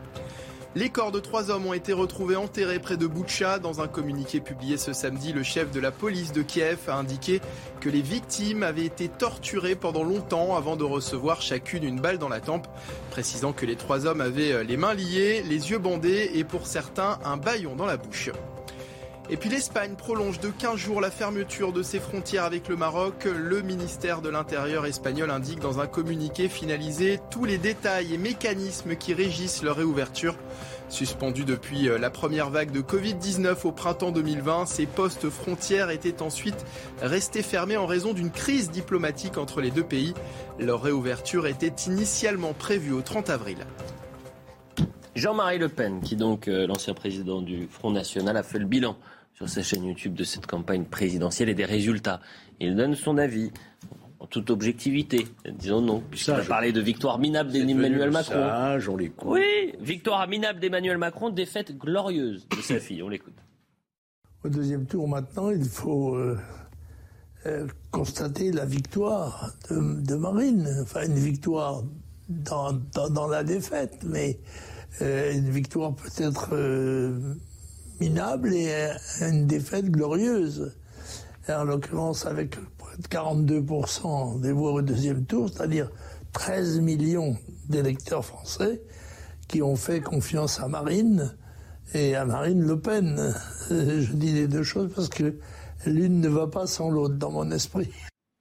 S2: Les corps de trois hommes ont été retrouvés enterrés près de Boutcha. Dans un communiqué publié ce samedi, le chef de la police de Kiev a indiqué que les victimes avaient été torturées pendant longtemps avant de recevoir chacune une balle dans la tempe, précisant que les trois hommes avaient les mains liées, les yeux bandés et pour certains un bâillon dans la bouche. Et puis l'Espagne prolonge de quinze jours la fermeture de ses frontières avec le Maroc. Le ministère de l'Intérieur espagnol indique dans un communiqué finalisé tous les détails et mécanismes qui régissent leur réouverture. Suspendus depuis la première vague de covid dix-neuf au printemps deux mille vingt, ces postes frontières étaient ensuite restés fermés en raison d'une crise diplomatique entre les deux pays. Leur réouverture était initialement prévue au trente avril.
S1: Jean-Marie Le Pen, qui donc, euh, l'ancien président du Front National, a fait le bilan sur sa chaîne YouTube de cette campagne présidentielle et des résultats. Il donne son avis en toute objectivité, disons non, puisqu'il a parlé de victoire minable d'Emmanuel Macron.
S4: Sage, on l'écoute.
S1: Oui, victoire minable d'Emmanuel Macron, défaite glorieuse de sa fille, on l'écoute.
S8: Au deuxième tour maintenant, il faut euh, euh, constater la victoire de, de Marine, enfin une victoire dans, dans, dans la défaite, mais euh, une victoire peut-être euh, minable et euh, une défaite glorieuse. Et en l'occurrence, avec près de quarante-deux pour cent des voix au deuxième tour, c'est-à-dire treize millions d'électeurs français qui ont fait confiance à Marine et à Marine Le Pen. Je dis les deux choses parce que l'une ne va pas sans l'autre dans mon esprit.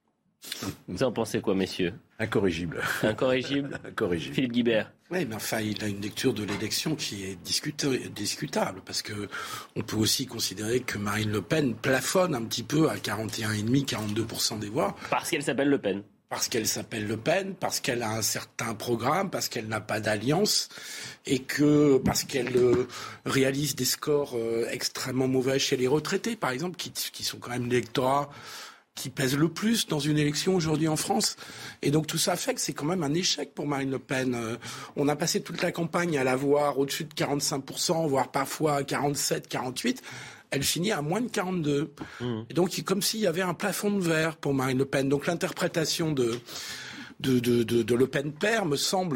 S1: Vous en pensez quoi, messieurs ?
S4: Incorrigible.
S1: Incorrigible.
S4: Incorrigible.
S1: Philippe Guibert.
S7: Oui, mais enfin, il a une lecture de l'élection qui est discuta- discutable, parce que on peut aussi considérer que Marine Le Pen plafonne un petit peu à quarante et un virgule cinq à quarante-deux pour cent des voix.
S1: Parce qu'elle s'appelle Le Pen.
S7: Parce qu'elle s'appelle Le Pen, parce qu'elle a un certain programme, parce qu'elle n'a pas d'alliance, et que parce qu'elle euh, réalise des scores euh, extrêmement mauvais chez les retraités, par exemple, qui, qui sont quand même l'électorat qui pèse le plus dans une élection aujourd'hui en France. Et donc tout ça fait que c'est quand même un échec pour Marine Le Pen. Euh, on a passé toute la campagne à la voir au-dessus de quarante-cinq pour cent, voire parfois à quarante-sept, quarante-huit. Elle finit à moins de quarante-deux. Mmh. Et donc comme s'il y avait un plafond de verre pour Marine Le Pen. Donc l'interprétation de, de, de, de, de Le Pen père me semble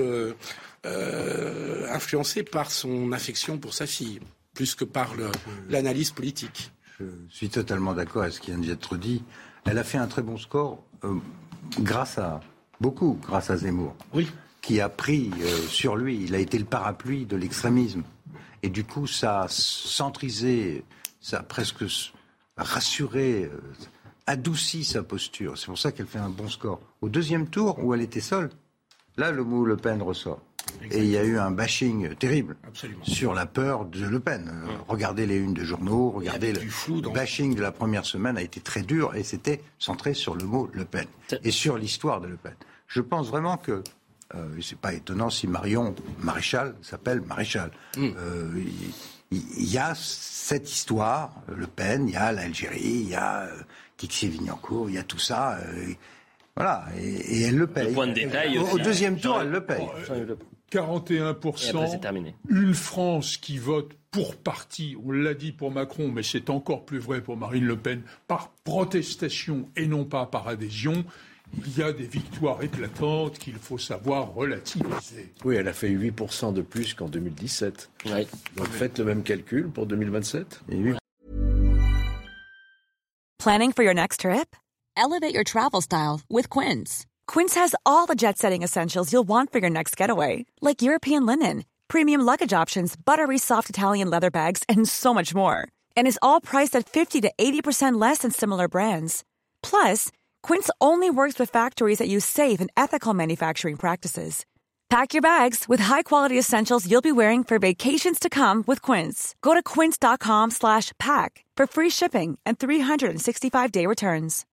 S7: euh, influencée par son affection pour sa fille, plus que par le, l'analyse politique.
S5: Je suis totalement d'accord avec ce qui vient d'être dit. Elle a fait un très bon score euh, grâce à, beaucoup grâce à Zemmour,
S7: oui.
S5: qui a pris euh, sur lui, il a été le parapluie de l'extrémisme. Et du coup, ça a centrisé, ça a presque rassuré, euh, adouci sa posture. C'est pour ça qu'elle fait un bon score. Au deuxième tour, où elle était seule, là, le mot Le Pen ressort. Exactement. Et il y a eu un bashing terrible
S7: Absolument.
S5: Sur la peur de Le Pen. Euh, ouais. Regardez les unes de journaux, regardez le, le bashing de la première semaine a été très dur et c'était centré sur le mot Le Pen et sur l'histoire de Le Pen. Je pense vraiment que euh, c'est pas étonnant si Marion Maréchal s'appelle Maréchal. Mm. Euh, il, il y a cette histoire, Le Pen, il y a l'Algérie, il y a euh, Kixi-Vignancourt, il y a tout ça. Euh, voilà, et, et elle le paye.
S1: Le point de détail
S5: au,
S1: aussi,
S5: au deuxième tour,
S1: Jean,
S5: elle le paye.
S6: quarante et un pour cent.
S1: Et après, c'est terminé.
S6: Une France qui vote pour parti, on l'a dit pour Macron, mais c'est encore plus vrai pour Marine Le Pen, par protestation et non pas par adhésion. Il y a des victoires éclatantes qu'il faut savoir relativiser.
S4: Oui, elle a fait huit pour cent de plus qu'en deux mille dix-sept.
S1: Oui.
S4: Donc faites le même calcul pour deux mille vingt-sept.
S5: Et oui.
S10: Planning for your next trip? Elevate your travel style with Quince. Quince has all the jet-setting essentials you'll want for your next getaway, like European linen, premium luggage options, buttery soft Italian leather bags, and so much more. And is all priced at fifty to eighty percent less than similar brands. Plus, Quince only works with factories that use safe and ethical manufacturing practices. Pack your bags with high-quality essentials you'll be wearing for vacations to come with Quince. Go to quince.com slash pack for free shipping and three sixty-five day returns.